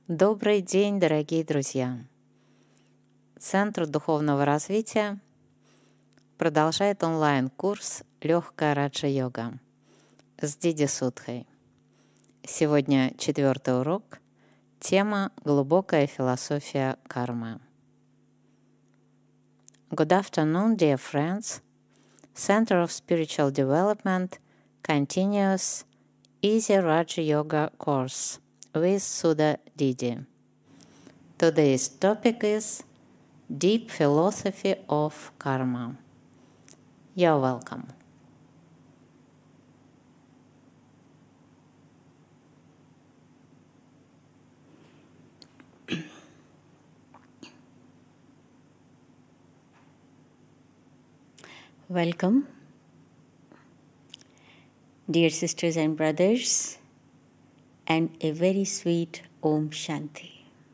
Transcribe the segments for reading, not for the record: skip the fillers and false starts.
Добрый день, дорогие друзья! Центр духовного развития продолжает онлайн-курс «Легкая раджа-йога» с Диди Судхой. Сегодня 4-й урок. Тема «Глубокая философия кармы». Good afternoon, dear friends. Center of Spiritual Development continues Easy Raja Yoga course with Sudha Didi. Today's topic is Deep Philosophy of Karma. You're welcome. Welcome, dear sisters and brothers, and a very sweet Om Shanti.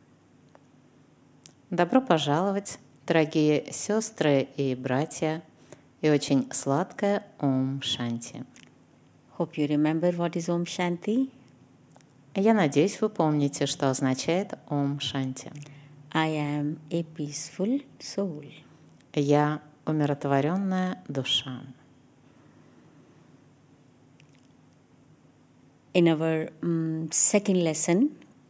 Добро пожаловать, дорогие сестры и братья, и очень сладкая Ом Шанти. Hope you remember what is Om Shanti. Я надеюсь, вы помните, что означает Ом Шанти. I am a peaceful soul. Я умиротворенная душа. In our second lesson,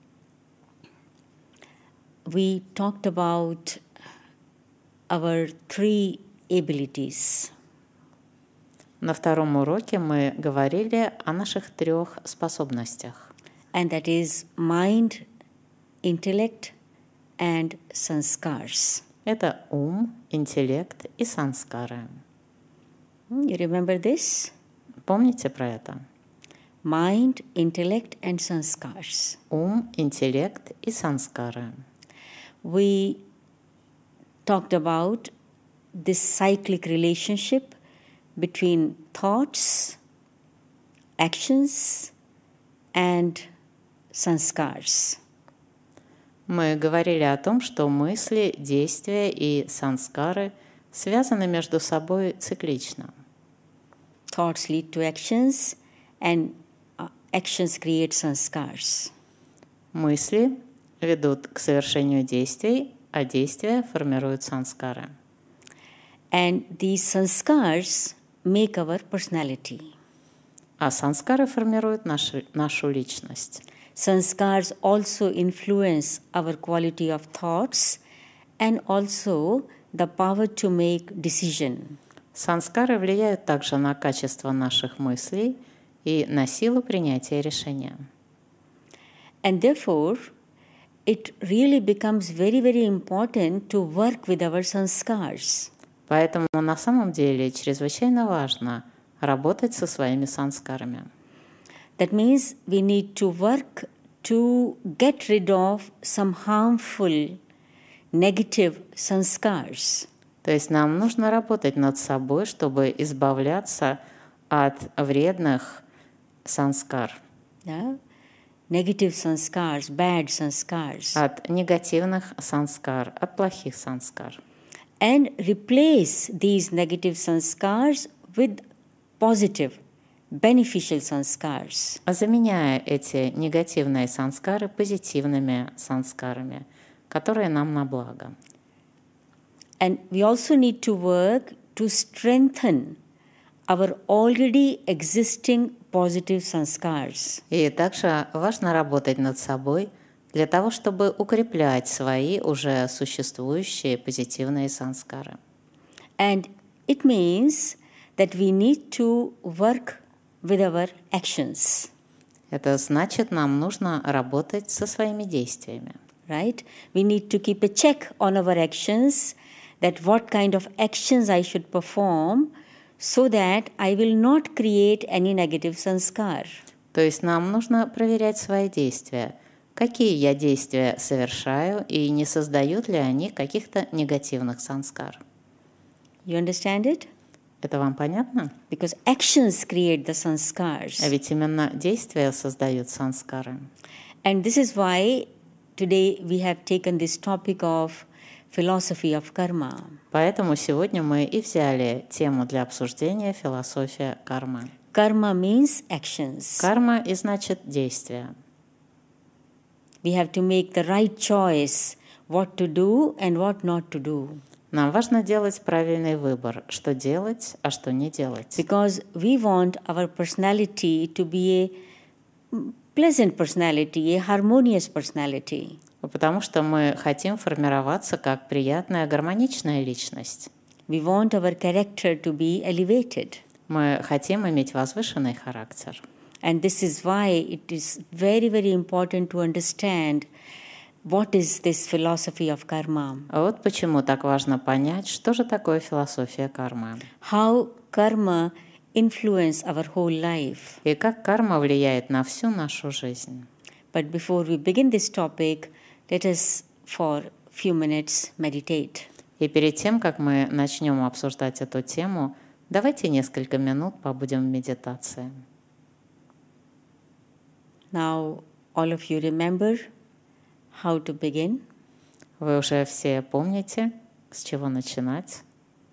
we talked about our three abilities. На втором уроке мы говорили о наших 3 способностях. And that is mind, intellect, and sanskars. Это ум, интеллект и санскары. You remember this? Помните про это? Mind, intellect, and sanskars. Ум, интеллект и санскары. We talked about this cyclic relationship between thoughts, actions, and sanskars. Мы говорили о том, что мысли, действия и санскары связаны между собой циклично. Thoughts lead to actions, and actions create sanskars. Мысли ведут к совершению действий, а действия формируют санскары. And these sanskars make our personality. А санскары формируют нашу личность. Sanskars also influence our quality of thoughts and also the power to make decision. Санскары влияют также на качество наших мыслей и на силу принятия решения. And therefore, it really becomes very, very important to work with our sanskars. Поэтому на самом деле чрезвычайно важно работать со своими санскарами. That means we need to work to get rid of some harmful, negative sanskars. То есть нам нужно работать над собой, чтобы избавляться от вредных санскар, Yeah? Negative sanskars, bad sanskars. от негативных санскар, от плохих санскар. And replace these negative sanskars with positive, beneficial sanskars. Заменяя эти негативные санскары позитивными санскарами, которые нам на благо. And we also need to work to strengthen our already existing positive sanskars. И также важно работать над собой для того, чтобы укреплять свои уже существующие позитивные санскары. And it means that we need to work with our actions. Это значит, нам нужно работать со своими действиями. Right? We need to keep a check on our actions, that what kind of actions I should perform so that I will not create any negative sanskar. То есть нам нужно проверять свои действия. Какие я действия совершаю и не создают ли они каких-то негативных санскар. You understand it? Это вам понятно? Because actions create the sanskars. А ведь именно действия создают санскары. And this is why today we have taken this topic of philosophy of karma. Поэтому сегодня мы и взяли тему для обсуждения философия кармы. Karma means actions. Карма и значит действия. We have to make the right choice what to do and what not to do. Нам важно делать правильный выбор, что делать, а что не делать. Because we want our personality to be a pleasant personality, a harmonious personality. Потому что мы хотим формироваться как приятная, гармоничная личность. We want our character to be elevated. Мы хотим иметь возвышенный характер. And this is why it is very, very important to understand what is this philosophy of karma. А вот почему так важно понять, что же такое философия кармы. How karma influence our whole life. И как карма влияет на всю нашу жизнь. But before we begin this topic, let us for few minutes meditate. И перед тем, как мы начнем обсуждать эту тему, давайте несколько минут побудем в медитации. Now, all of you remember how to begin. Вы уже все помните, с чего начинать.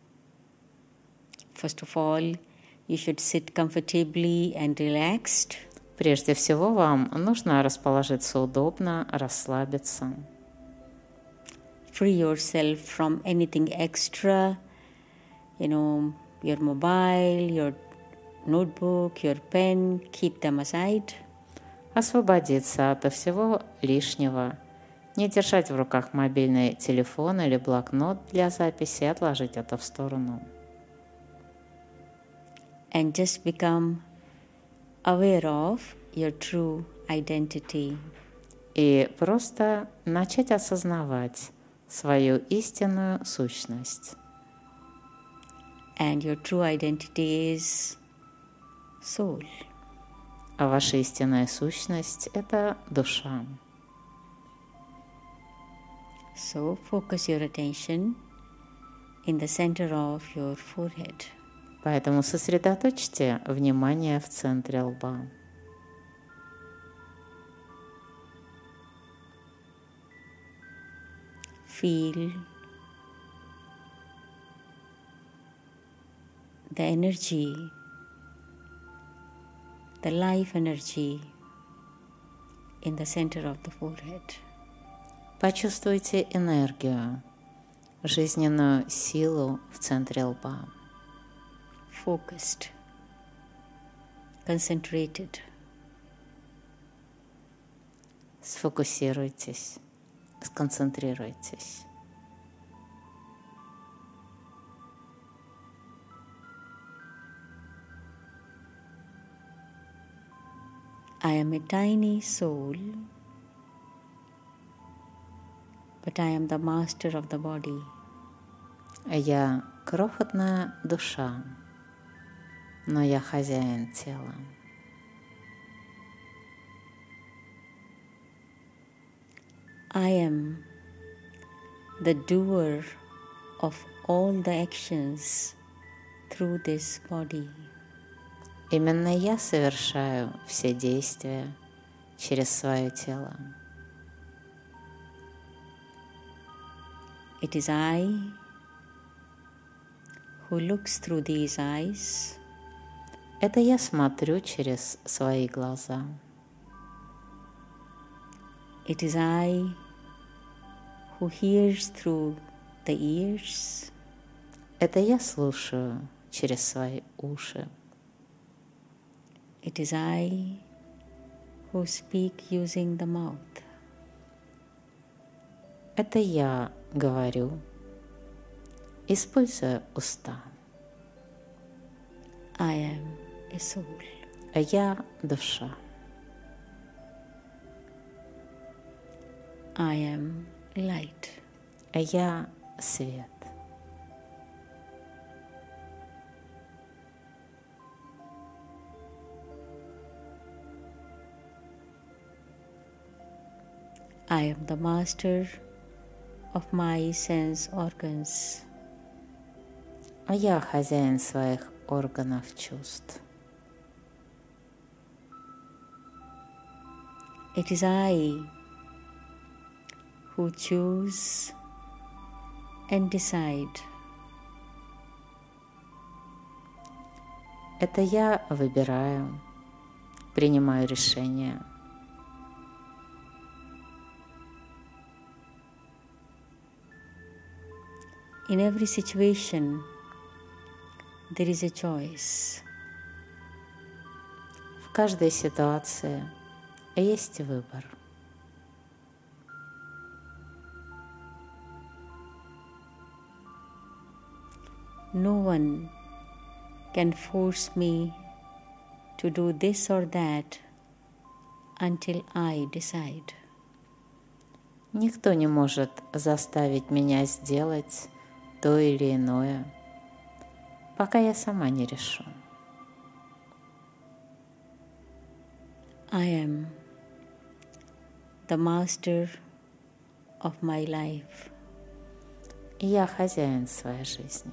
First of all, you should sit comfortably and relaxed. Прежде всего, вам нужно расположиться удобно, расслабиться. Free yourself from anything extra, your mobile, your notebook, your pen, keep them aside. Освободиться от всего лишнего. Не держать в руках мобильный телефон или блокнот для записи, отложить это в сторону. And just become aware of your true identity. И просто начать осознавать свою истинную сущность. And your true identity is soul. А ваша истинная сущность – это душа. So focus your attention in the center of your forehead. Поэтому сосредоточьте внимание в центре лба. Feel the energy, the life energy in the center of the forehead. Почувствуйте энергию, жизненную силу в центре лба. Focused, concentrated. Сфокусируйтесь, сконцентрируйтесь. I am a tiny soul, but I am the master of the body. Я крохотная душа, но я хозяин тела. I am the doer of all the actions through this body. Именно я совершаю все действия через свое тело. It is I who looks through these eyes. Это я смотрю через свои глаза. It is I who hears through the ears. Это я слушаю через свои уши. It is I who speak using the mouth. Это я говорю, используя уста. I am a soul. А я душа. I am light. А я свет. I am the master of my sense organs. А я хозяин своих органов чувств. It is I who choose and decide. Это я выбираю, принимаю решения. In every situation, there is a choice. В каждой ситуации есть выбор. No one can force me to do this or that until I decide. Никто не может заставить меня сделать то или иное, пока я сама не решу. I am the master of my life. Я хозяин своей жизни.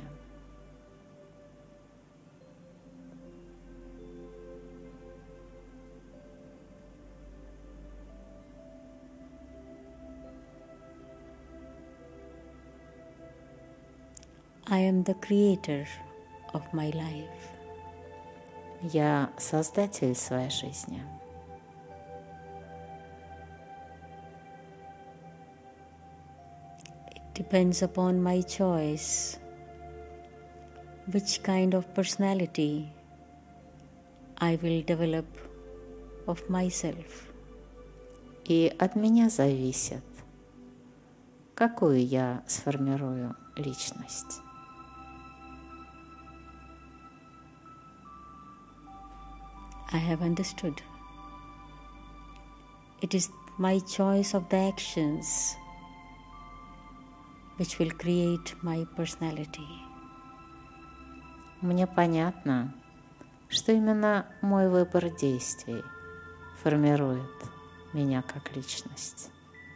I am the creator of my life. Я создатель своей жизни. It depends upon my choice which kind of personality I will develop of myself. И от меня зависит, какую я сформирую личность. I have understood. It is my choice of the actions which will create my personality. Мне понятно, что именно мой выбор действий формирует меня как личность.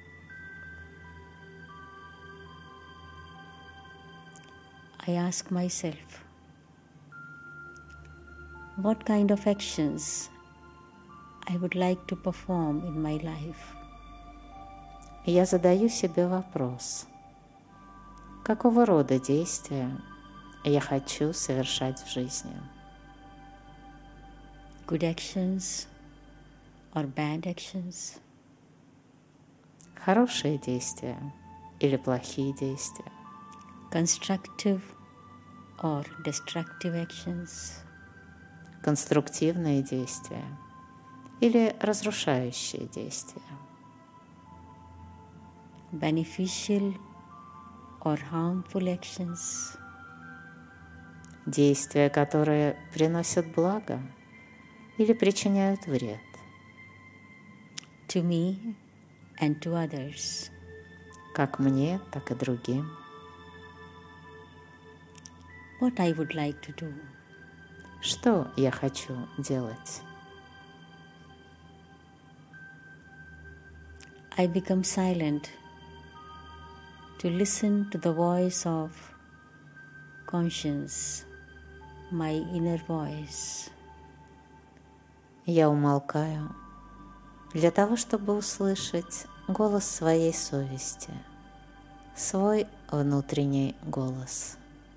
I ask myself, what kind of actions I would like to perform in my life? Я задаю себе вопрос, какого рода действия я хочу совершать в жизни? Good actions or bad actions? Хорошие действия или плохие действия? Constructive or destructive actions? Конструктивные действия или разрушающие действия? Beneficial or harmful actions? Действия, которые приносят благо или причиняют вред? To me and to others. Как мне, так и другим. What I would like to do? Что я хочу делать? I become silent to listen to the voice of conscience, my inner voice. Я умолкаю для того, чтобы услышать голос своей совести, свой внутренний голос.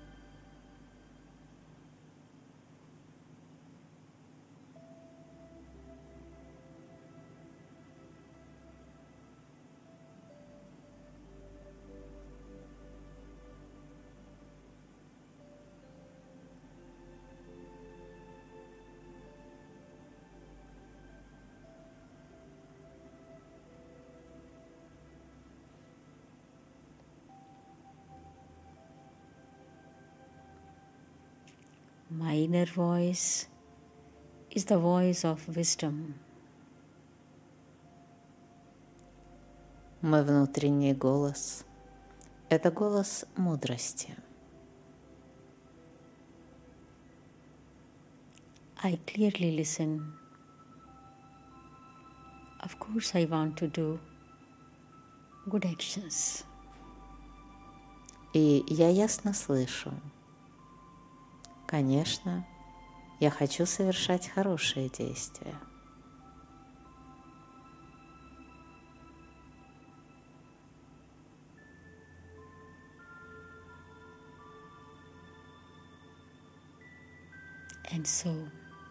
My inner voice is the voice of wisdom. Мой внутренний голос – это голос мудрости. I clearly listen. Of course, I want to do good actions. И я ясно слышу. Конечно, я хочу совершать хорошие действия. And so,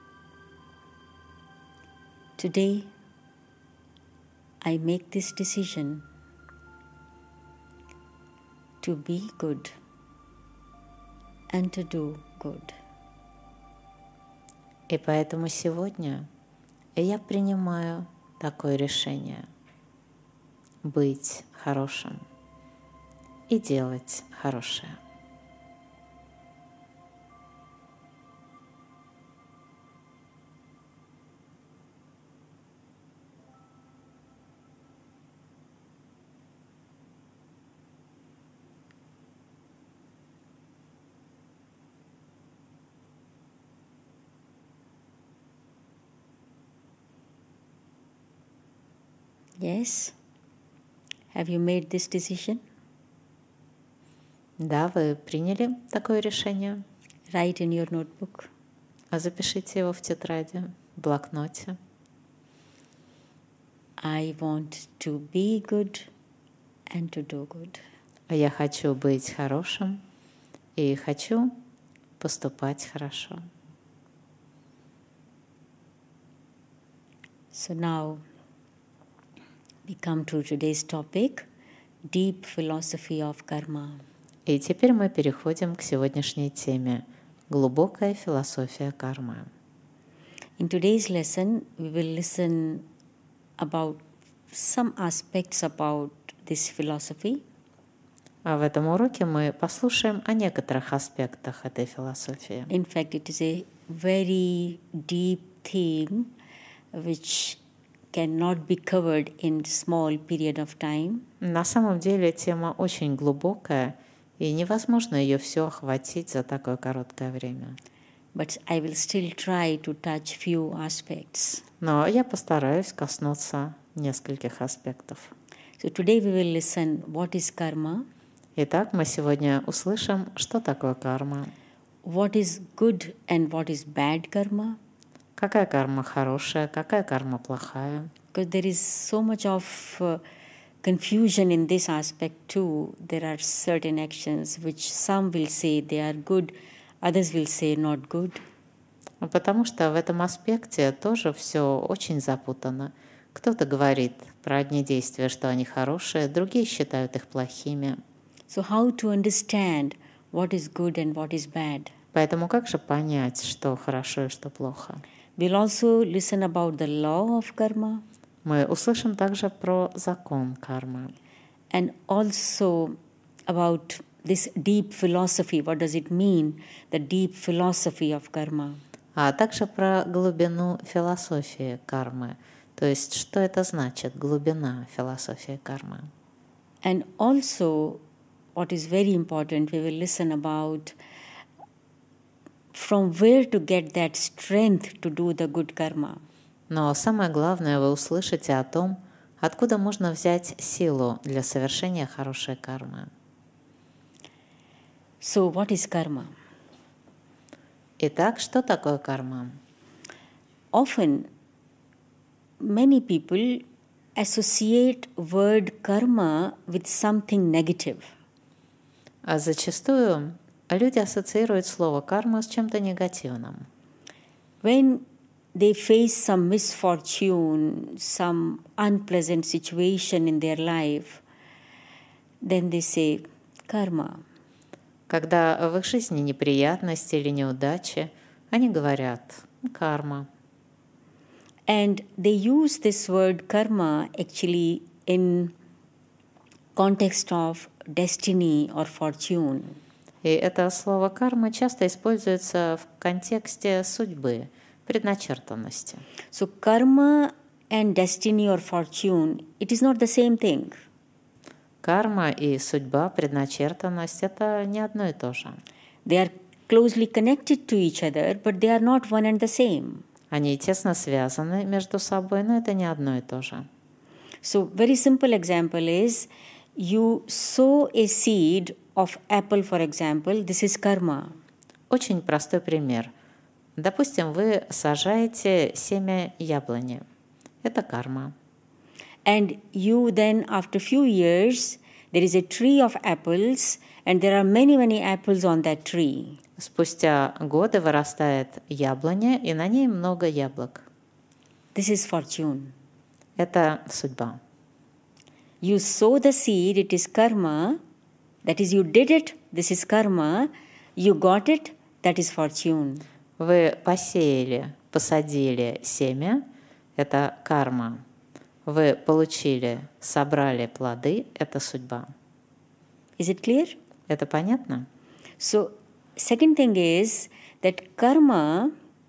today, I make this decision to be good and to do good. И поэтому сегодня я принимаю такое решение – быть хорошим и делать хорошее. Yes? Have you made this decision? Да, вы приняли такое решение? Write in your notebook. Запишите его в тетради, в блокноте. I want to be good and to do good. Я хочу быть хорошим и хочу поступать хорошо. So now we come to today's topic, deep philosophy of karma. И теперь мы переходим к сегодняшней теме – глубокая философия кармы. In today's lesson, we will listen about some aspects about this philosophy. А в этом уроке мы послушаем о некоторых аспектах этой философии. In fact, it is a very deep theme which cannot be covered in small period of time. На самом деле тема очень глубокая, и невозможно ее все охватить за такое короткое время. But I will still try to touch few aspects. Но я постараюсь коснуться нескольких аспектов. So today we will listen what is karma, Итак, мы сегодня услышим, что такое карма, what is good and what is bad karma, какая карма хорошая, какая карма плохая. because there is so much of confusion in this aspect too. There are certain actions which some will say they are good, others will say not good. Потому что в этом аспекте тоже все очень запутано. Кто-то говорит про одни действия, что они хорошие, другие считают их плохими. So how to understand what is good and what is bad? Поэтому как же понять, что хорошо и что плохо? We'll also listen about the law of karma Мы услышим также про закон кармы. and also about this deep philosophy. What does it mean, the deep philosophy of karma? А также про глубину философии кармы. То есть, что это значит, глубина философии кармы. And also, what is very important, we will listen about from where to get that strength to do the good karma. Но самое главное, вы услышите о том, откуда можно взять силу для совершения хорошей кармы. So, what is karma? Итак, что такое карма? Often, many people associate word karma with something negative. А зачастую люди ассоциируют слово карма с чем-то негативным. When they face some misfortune, some unpleasant situation in their life, then they say karma. Когда в их жизни неприятности или неудачи, они говорят «карма». And they use this word karma actually in context of destiny or fortune. И это слово «карма» часто используется в контексте судьбы, предначертанности. So karma and destiny or fortune, it is not the same thing. Карма и судьба, предначертанность – это не одно и то же. They are closely connected to each other, but they are not one and the same. Они тесно связаны между собой, но это не одно и то же. So very simple example is you sow a seed of apple, for example, this is karma. Очень простой пример. Допустим, вы сажаете семя яблони. Это карма. And you then, after few years, there is a tree of apples and there are many, many apples on that tree. Спустя годы вырастает яблоня, и на ней много яблок. This is fortune. Это судьба. You sow the seed, it is karma. That is, you did it, this is karma. You got it, that is fortune. Вы посеяли, посадили семя – это карма. Вы получили, собрали плоды – это судьба. Is it clear? Это понятно? So, second thing is that karma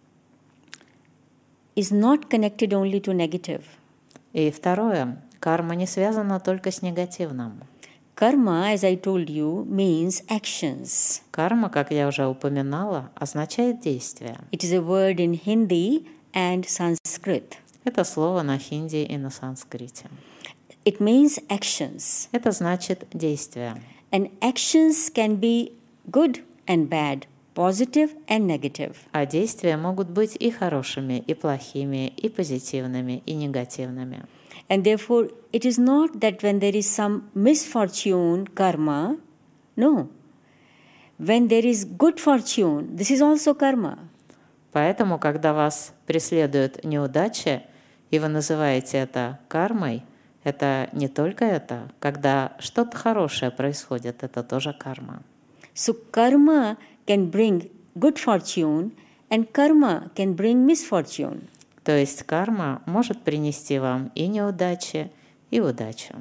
is not connected only to negative. И второе, карма не связана только с негативным. Karma, as I told you, means actions. Карма, как я уже упоминала, означает действие. It is a word in Hindi and Sanskrit. Это слово на хинди и на санскрите. It means actions. Это значит действие. And actions can be good and bad, positive and negative. А действия могут быть и хорошими, и плохими, и позитивными, и негативными. And therefore, it is not that when there is some misfortune, karma, no. When there is good fortune, this is also karma. Поэтому, когда вас преследуют неудачи, и вы называете это кармой, это не только это. Когда что-то хорошее происходит, это тоже карма. So karma can bring good fortune and karma can bring misfortune. То есть карма может принести вам и неудачи, и удачу.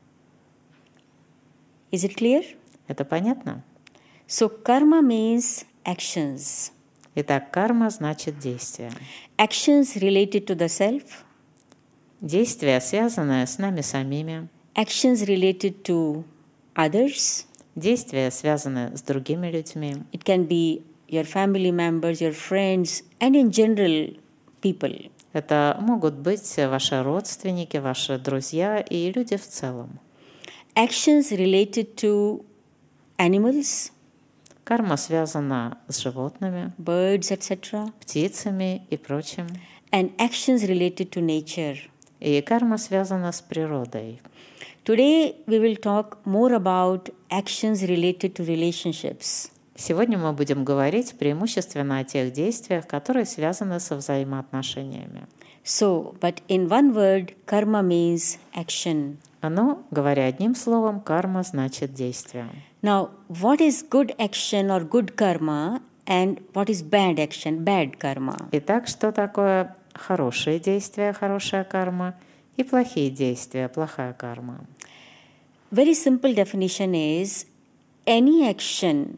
Is it clear? Это понятно? So karma means actions. Итак, карма значит действие. Actions related to the self. Действия, связанные с нами самими. Actions related to others. Действия, связанные с другими людьми. It can be your family members, your friends, and in general people. Это могут быть ваши родственники, ваши друзья и люди в целом. Actions related to animals, Карма связана с животными, birds, etc. птицами и прочим. And actions related to nature. И карма связана с природой. Today we will talk more about actions related to relationships. Сегодня мы будем говорить преимущественно о тех действиях, которые связаны со взаимоотношениями. So, but in one word, karma means action. Но, говоря одним словом, карма значит действие. Now, what is good action or good karma and what is bad action, bad karma? Итак, что такое хорошие действия, хорошая карма, и плохие действия, плохая карма? Very simple definition is any action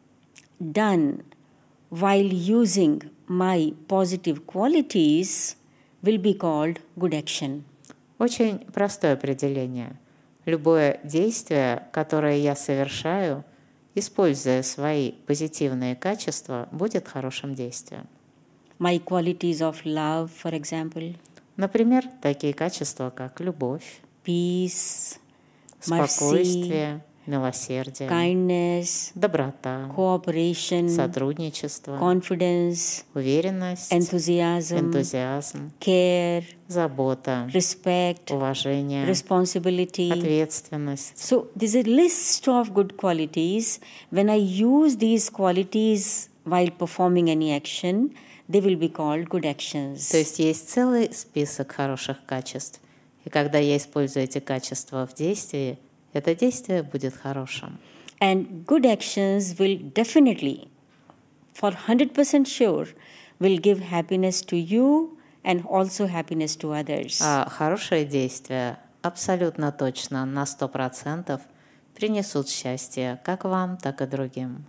done while using my positive qualities will be called good action. Очень простое определение. Любое действие, которое я совершаю, используя свои позитивные качества, будет хорошим действием. My qualities of love, for example, Например, такие качества, как любовь, peace, mercy, спокойствие, милосердие, kindness, доброта, cooperation, сотрудничество, confidence, уверенность, enthusiasm, энтузиазм, care, забота, respect, уважение, responsibility. ответственность. So there's a list of good qualities. When I use these qualities while performing any action, they will be called good actions. То есть есть целый список хороших качеств. И когда я использую эти качества в действии, это действие будет хорошим. And good actions will definitely, for 100% sure, will give happiness to you and also happiness to others. А хорошие действия абсолютно точно на 100% принесут счастье как вам, так и другим.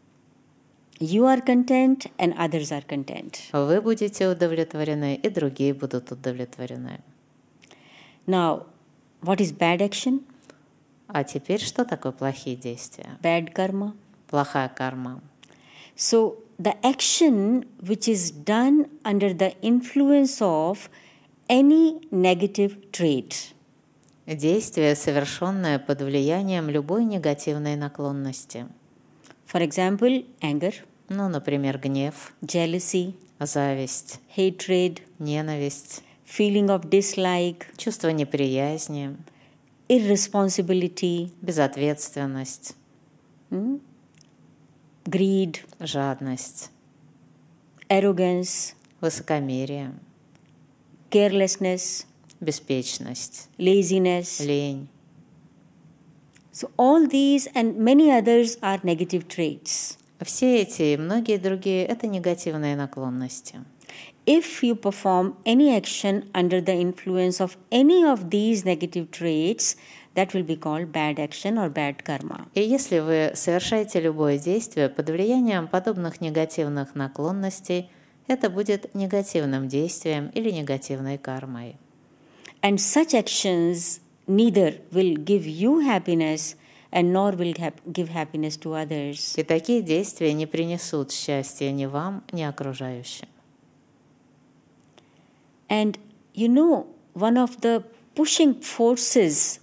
You are content and others are content. Вы будете удовлетворены, и другие будут удовлетворены. Now, what is bad action? А теперь что такое плохие действия? Bad karma. Плохая карма. So, the action which is done under the influence of any negative trait. Действие, совершенное под влиянием любой негативной наклонности. For example, anger, Ну, например, гнев, jealousy, зависть, hatred, ненависть, feeling of dislike, чувство неприязни, irresponsibility, безответственность, greed, жадность, arrogance, высокомерие, carelessness, беспечность, laziness. лень. So all these and many others are negative traits. Все эти и многие другие – это негативные наклонности. If you perform any action under the influence of any of these negative traits, that will be called bad action or bad karma. И если вы совершаете любое действие под влиянием подобных негативных наклонностей, это будет негативным действием или негативной кармой. And such actions neither will give you happiness and nor will give happiness to others. И такие действия не принесут счастья ни вам, ни окружающим. And you know, one of the pushing forces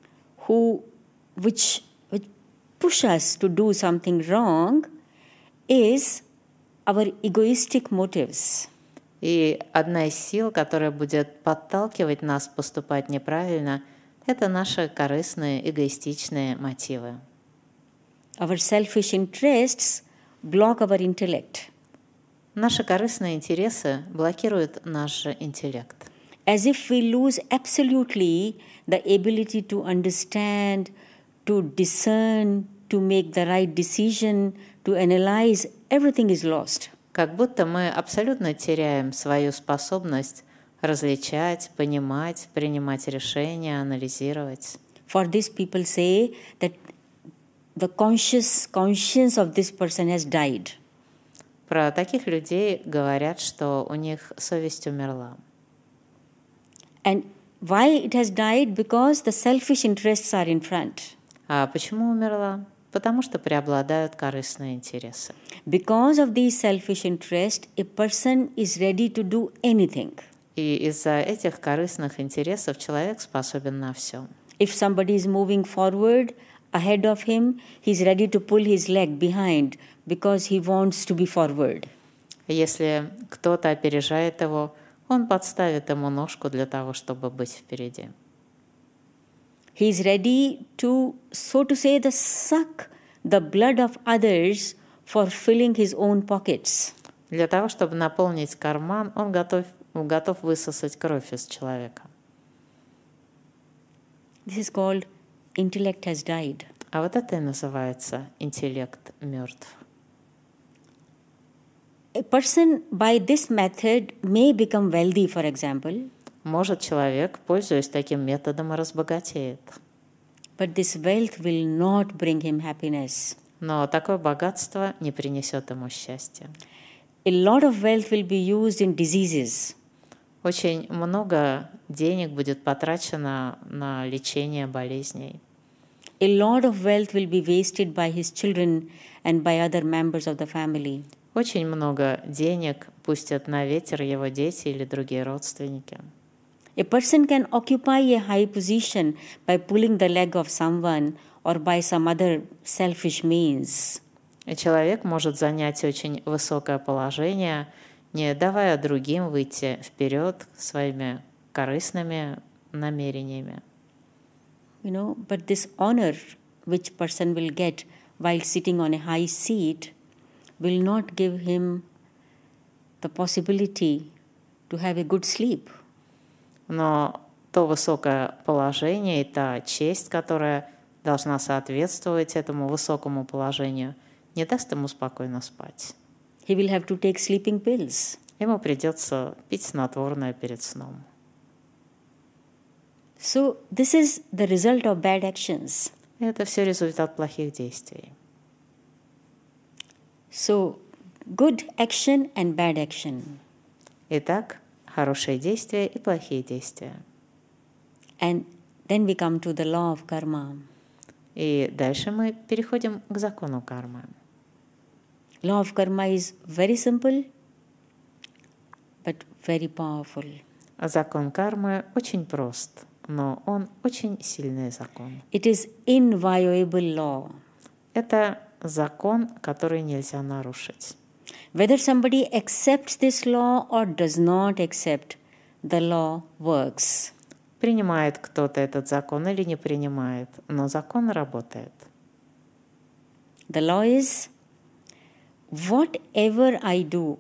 which push us to do something wrong is our egoistic motives. И одна из сил, которая будет подталкивать нас поступать неправильно, это наши корыстные, эгоистичные мотивы. Our selfish interests block our intellect. Наши корыстные интересы блокируют наш интеллект. As if we lose absolutely the ability to understand, to discern, to make the right decision, to analyze, everything is lost. Как будто мы абсолютно теряем свою способность различать, понимать, принимать решения, анализировать. For this, people say that the conscience of this person has died. Про таких людей говорят, что у них совесть умерла. And why it has died? Because the selfish interests are in front. А почему умерла? Потому что преобладают корыстные интересы. Because of these selfish interests, a person is ready to do anything. И из-за этих корыстных интересов человек способен на все. If somebody is moving forward ahead of him, he is ready to pull his leg behind because he wants to be forward. Если кто-то опережает его, он подставит ему ножку для того, чтобы быть впереди. He is ready to, so to say, suck the blood of others for filling his own pockets. Для того, чтобы наполнить карман, он готов высосать кровь из человека. This is called intellect has died. А вот это и называется интеллект мертв. A person by this method may become wealthy, for example. Может, человек, пользуясь таким методом, и разбогатеет. But this wealth will not bring him happiness. Но такое богатство не принесет ему счастья. A lot of wealth will be used in diseases. Очень много денег будет потрачено на лечение болезней. A lot of wealth will be wasted by his children and by other members of the family. Очень много денег пустят на ветер его дети или другие родственники. A person can occupy a high position by pulling the leg of someone or by some other selfish means. И человек может занять очень высокое положение, не давая другим выйти вперед своими корыстными намерениями. You know, but this honor which person will get while sitting on a high seat will not give him the possibility to have a good sleep. Но то высокое положение и та честь, которая должна соответствовать этому высокому положению, не даст ему спокойно спать. He will have to take sleeping pills. Ему придется пить снотворное перед сном. So this is the result of bad actions. Это все результат плохих действий. So good action and bad action. Итак, хорошие действия и плохие действия. And then we come to the law of karma. И дальше мы переходим к закону кармы. Law of karma is very simple, but very powerful. Закон кармы очень прост, но он очень сильный закон. It is inviolable law. Это закон, который нельзя нарушить. Whether somebody accepts this law or does not accept, the law works. Принимает кто-то этот закон или не принимает, но закон работает. The law is whatever I do,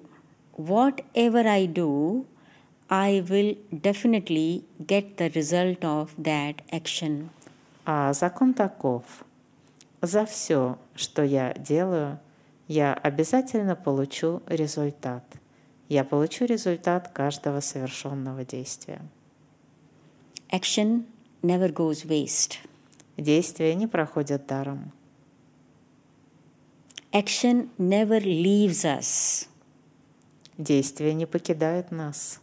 I will definitely get the result of that action. А закон таков. За все, что я делаю, я обязательно получу результат. Я получу результат каждого совершенного действия. Action never goes waste. Действие не проходит даром. Action never leaves us. Действие не покидает нас.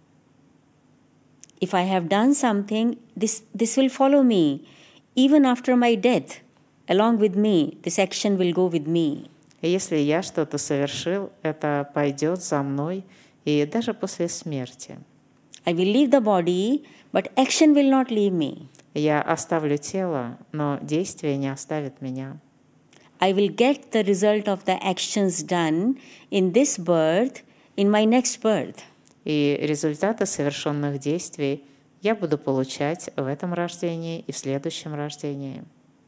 If I have done something, this will follow me. Even after my death, along with me, this action will go with me. Если я что-то совершил, это пойдет за мной и даже после смерти. I will leave the body, but action will not leave me. Я оставлю тело, но действие не оставит меня. I will get the result of the actions done in this birth, in my next birth. И результаты совершенных действий я буду получать в этом рождении и в следующем рождении.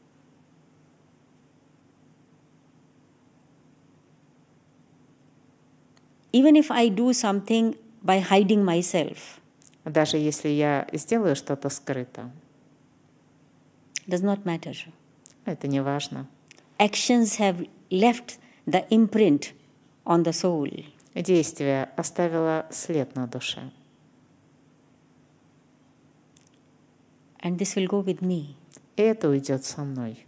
Even if I do something by hiding myself, Даже если я сделаю что-то скрыто, does not matter. это не важно. Actions have left the imprint on the soul. Действие оставило след на душе. And this will go with me. И это уйдет со мной.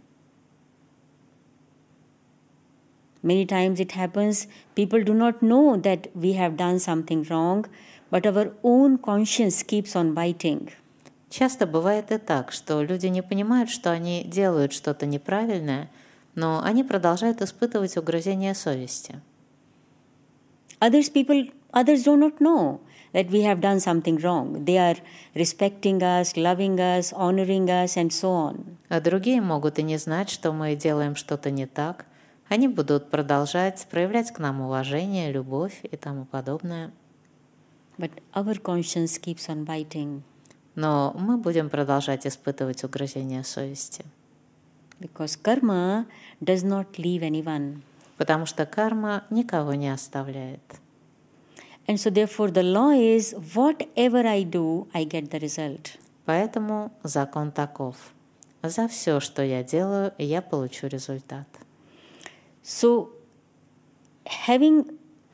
Many times it happens, people do not know that we have done something wrong, but our own conscience keeps on biting. Часто бывает и так, что люди не понимают, что они делают что-то неправильное, но они продолжают испытывать угрызение совести. Others do not know that we have done something wrong. They are respecting us, loving us, honoring us, and so on. А другие могут и не знать, что мы делаем что-то не так. Они будут продолжать проявлять к нам уважение, любовь и тому подобное. But our conscience keeps on biting. Но мы будем продолжать испытывать угрызение совести. Because karma does not leave anyone. Потому что карма никого не оставляет. And so therefore the law is, whatever I do, I get the result. Поэтому закон таков. За все, что я делаю, я получу результат. So having,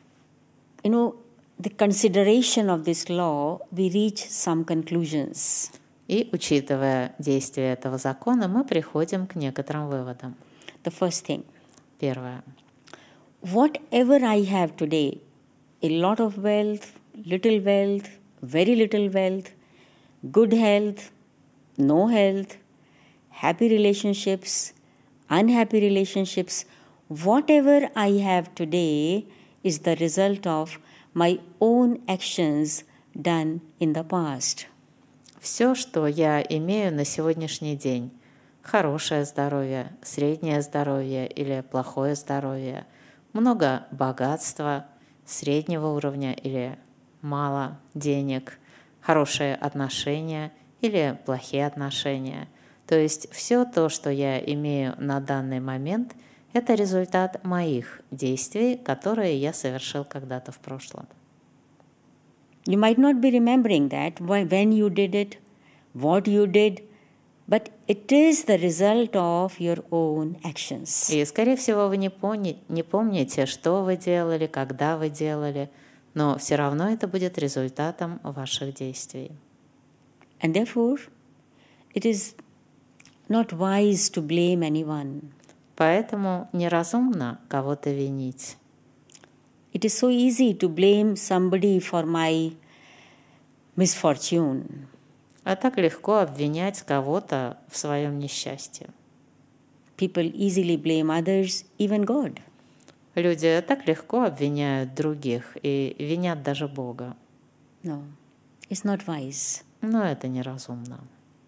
the consideration of this law, we reach some conclusions. И, учитывая действие этого закона, мы приходим к некоторым выводам. The first thing. Первое. Whatever I have today, a lot of wealth, very little wealth, good health, no health, happy relationships, unhappy relationships, whatever I have today is the result of my own actions done in the past. Все, что я имею на сегодняшний день, хорошее здоровье, среднее здоровье или плохое здоровье, много богатства, среднего уровня или мало денег, хорошие отношения или плохие отношения. То есть все то, что я имею на данный момент, это результат моих действий, которые я совершил когда-то в прошлом. You might not be remembering that, when you did it, what you did, but it is the result of your own actions. И, скорее всего, вы не помните, что вы делали, когда вы делали, но все равно это будет результатом ваших действий. And therefore, it is not wise to blame anyone. Поэтому неразумно кого-то винить. It is so easy to blame somebody for my misfortune. А так легко обвинять кого-то в своем несчастье. People easily blame others, even God. Люди так легко обвиняют других и винят даже Бога. No, it's not wise. Но это неразумно.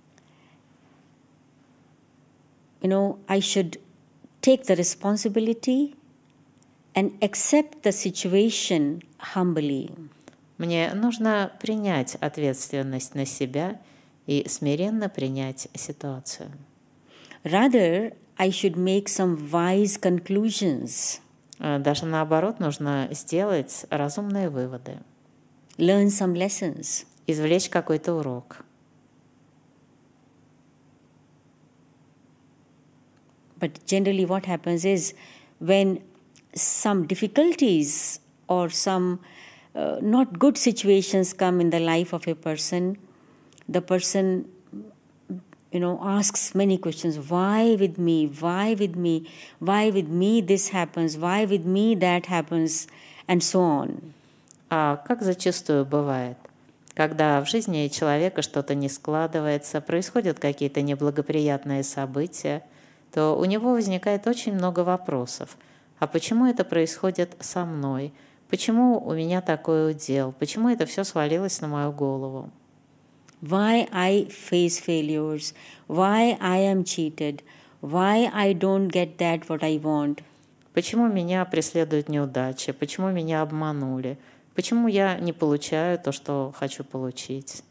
I should take the responsibility and accept the situation humbly. Мне нужно принять ответственность на себя и смиренно принять ситуацию. Rather, I should make some wise conclusions. Даже наоборот, нужно сделать разумные выводы. Learn some lessons. Извлечь какой-то урок. But generally what happens is when some difficulties or some not good situations come in the life of a person, the person asks many questions. Why with me? Why with me? Why with me this happens? Why with me that happens? And so on. А как зачастую бывает, когда в жизни человека что-то не складывается, происходят какие-то неблагоприятные события, то у него возникает очень много вопросов. А почему это происходит со мной? Почему у меня такой удел? Почему это все свалилось на мою голову? Why I face failures? Why I am cheated? Why I don't get that what I want? Почему меня преследуют неудачи? Почему меня обманули? Почему я не получаю то, что хочу получить?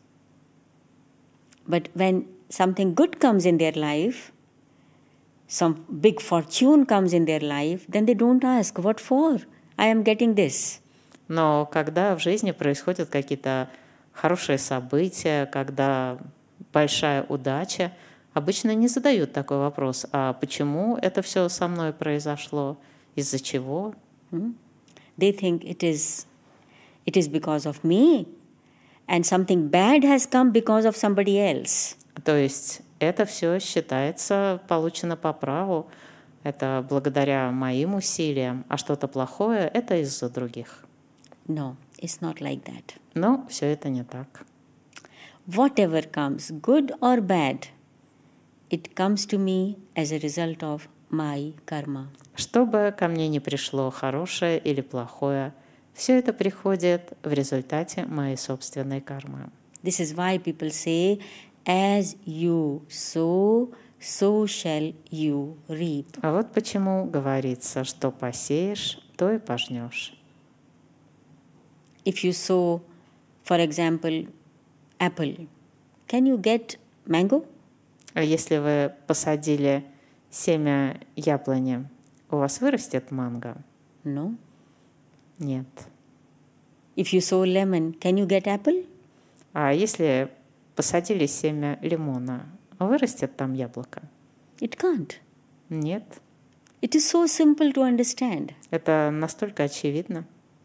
But when something good comes in their life, some big fortune comes in their life, then they don't ask, what for? I am getting this. Но когда в жизни происходят какие-то хорошие события, когда большая удача, обычно не задают такой вопрос, а почему это все со мной произошло, из-за чего? They think it is because of me, and something bad has come because of somebody else. То есть это все считается получено по праву, это благодаря моим усилиям, а что-то плохое – это из-за других. No, it's not like that. Но все это не так. Whatever comes, good or bad, it comes to me as a result of my karma. Что бы ко мне ни пришло, хорошее или плохое, все это приходит в результате моей собственной кармы. This is why people say, as you sow, so shall you reap. А вот почему говорится, что посеешь, то и пожнешь. If you sow, for example, apple, can you get mango? А если вы посадили семя яблони, у вас вырастет манго? No. Нет. If you sow lemon, can you get apple? А если посадили семя лимона, вырастет там яблоко? It can't. Нет. It is so simple to understand. Это настолько очевидно.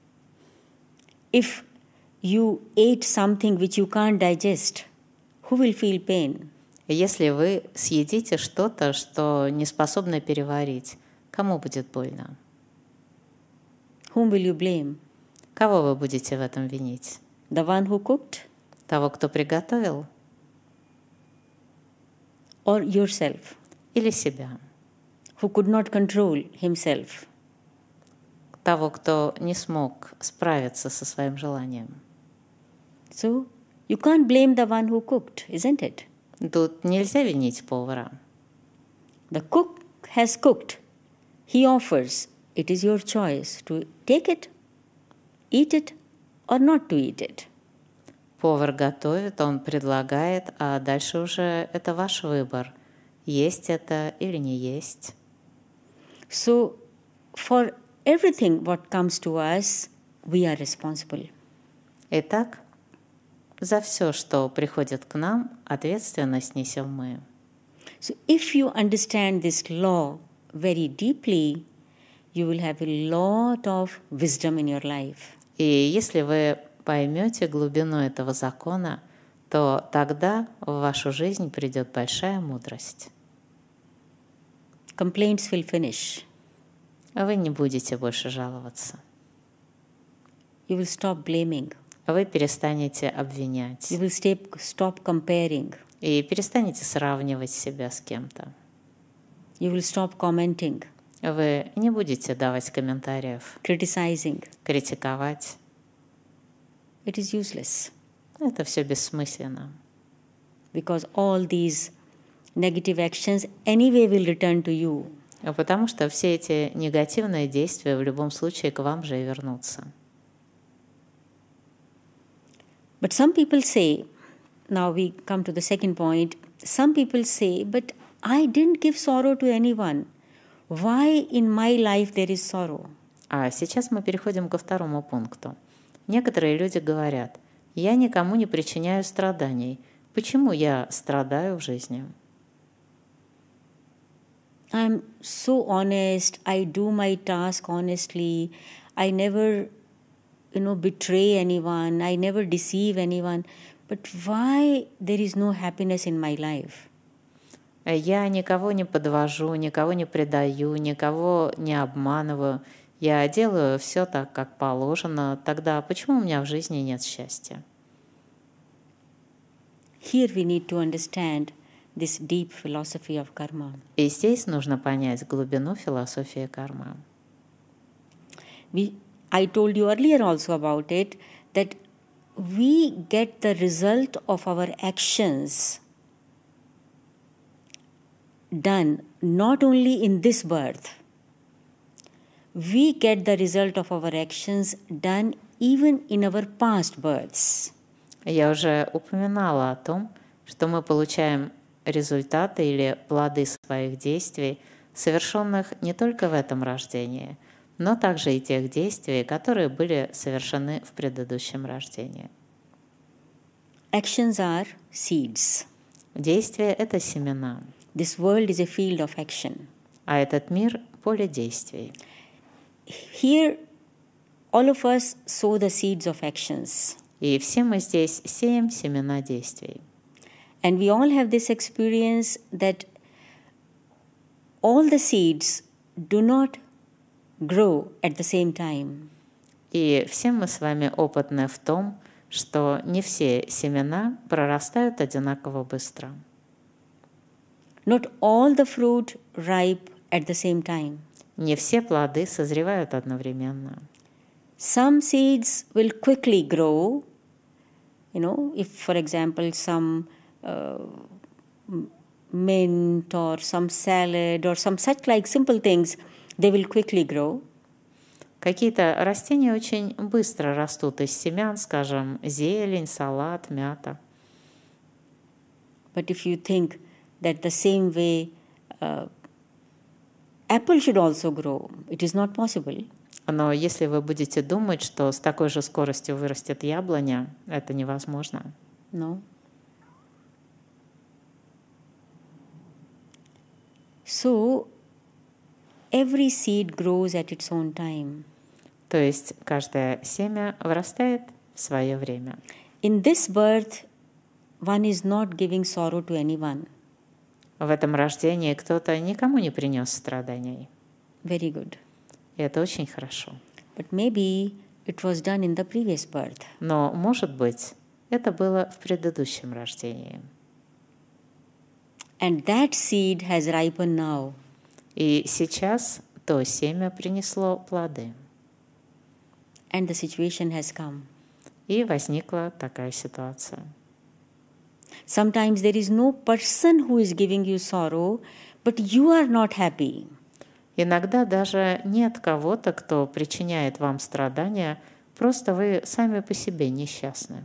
If you ate something which you can't digest, who will feel pain? Если вы съедите что-то, что не способны переварить, кому будет больно? Whom will you blame? Кого вы будете в этом винить? The one who cooked Того, кто приготовил? or yourself, Или себя? who could not control himself? Того, кто не смог справиться со своим желанием? So you can't blame the one who cooked, isn't it? Тут нельзя винить повара. The cook has cooked. He offers. It is your choice to take it, eat it, or not to eat it. Повар готовит, он предлагает, а дальше уже это ваш выбор, есть это или не есть. So for everything what comes to us, we are responsible. Итак, за все, что приходит к нам, ответственность несем мы. So if you understand this law very deeply, you will have a lot of wisdom in your life. И если вы поймете глубину этого закона, то тогда в вашу жизнь придет большая мудрость. Complaints will finish. Вы не будете больше жаловаться. You will stop blaming. Вы перестанете обвинять. You will stop comparing. И перестанете сравнивать себя с кем-то. You will stop commenting, Вы не будете давать комментариев, criticizing. критиковать. It is useless Это все бессмысленно. because all these negative actions anyway will return to you. Потому что все эти негативные действия в любом случае к вам же и вернутся. But some people say, now we come to the second point, some people say, but I didn't give sorrow to anyone. Why in my life there is sorrow? А сейчас мы переходим ко второму пункту. Некоторые люди говорят, я никому не причиняю страданий. Почему я страдаю в жизни? I'm so honest, I do my task honestly, I never, betray anyone, I never deceive anyone. But why there is no happiness in my life? Я никого не подвожу, никого не предаю, никого не обманываю. Я делаю все так, как положено. Тогда почему у меня в жизни нет счастья? Here we need to understand this deep philosophy of karma. И здесь нужно понять глубину философии кармы. I told you earlier also about it, that we get the result of our actions done not only in this birth, we get the result of our actions done even in our past births. Я уже упоминала о том, что мы получаем результаты или плоды своих действий, совершенных не только в этом рождении, но также и тех действий, которые были совершены в предыдущем рождении. Actions are seeds. Действия — это семена. This world is a field of action. А этот мир — поле действий. Here, all of us sow the seeds of actions. И все мы здесь сеем семена действий. And we all have this experience that all the seeds do not grow at the same time. И все мы с вами опытны в том, что не все семена прорастают одинаково быстро. Not all the fruit ripe at the same time. Не все плоды созревают одновременно. Some seeds will quickly grow. If, for example, some mint or some salad or some such like simple things, they will quickly grow. Какие-то растения очень быстро растут из семян, скажем, зелень, салат, мята. But if you think that the same way apple should also grow, it is not possible. Но если вы будете думать, что с такой же скоростью вырастет яблоня, это невозможно. No. So, every seed grows at its own time. То есть каждое семя вырастает в свое время. In this birth, one is not giving sorrow to anyone. В этом рождении кто-то никому не принес страданий. Very good. И это очень хорошо. But maybe it was done in the previous birth. Но, может быть, это было в предыдущем рождении. And that seed has ripened now. И сейчас то семя принесло плоды. And the situation has come. И возникла такая ситуация. Sometimes there is no person who is giving you sorrow, but you are not happy. Иногда даже нет кого-то, кто причиняет вам страдания, просто вы сами по себе несчастны.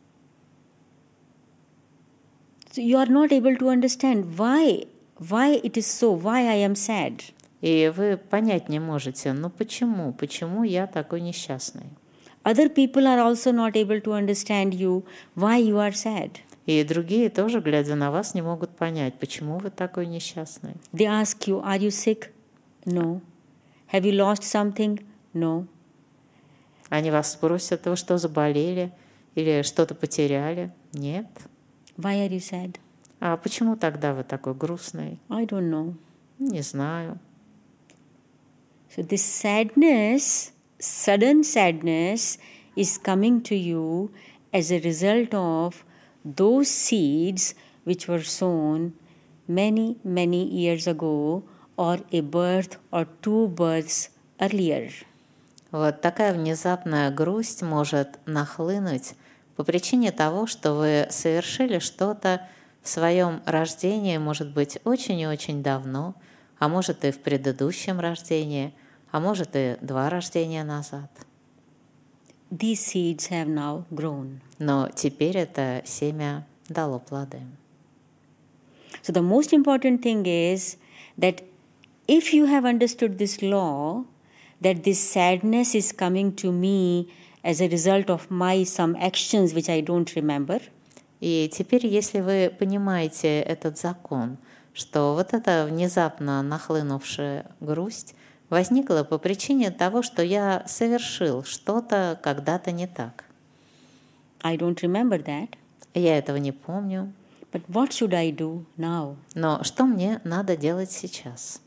So you are not able to understand why it is so, why I am sad. И вы понять не можете, почему я такой несчастный. Other people are also not able to understand you, why you are sad. И другие тоже, глядя на вас, не могут понять, почему вы такой несчастный. They ask you, are you sick? No. Have you lost something? No. Они вас спросят, вы что, заболели? Или что-то потеряли? Нет. Why are you sad? А почему тогда вы такой грустный? I don't know. Не знаю. So this sadness, sudden sadness, is coming to you as a result of those seeds which were sown many, many years ago, or a birth or two births earlier. Вот такая внезапная грусть может нахлынуть по причине того, что вы совершили что-то в своем рождении, может быть, очень и очень давно, а может и в предыдущем рождении, а может и 2 рождения назад. These seeds have now grown. Но теперь это семя дало плоды. So the most important thing is that if you have understood this law, that this sadness is coming to me as a result of my some actions which I don't remember. И теперь, если вы понимаете этот закон, что вот эта внезапно нахлынувшая грусть возникла по причине того, что я совершил что-то когда-то не так. I don't remember that. Я этого не помню. But what should I do now? Но что мне надо делать сейчас?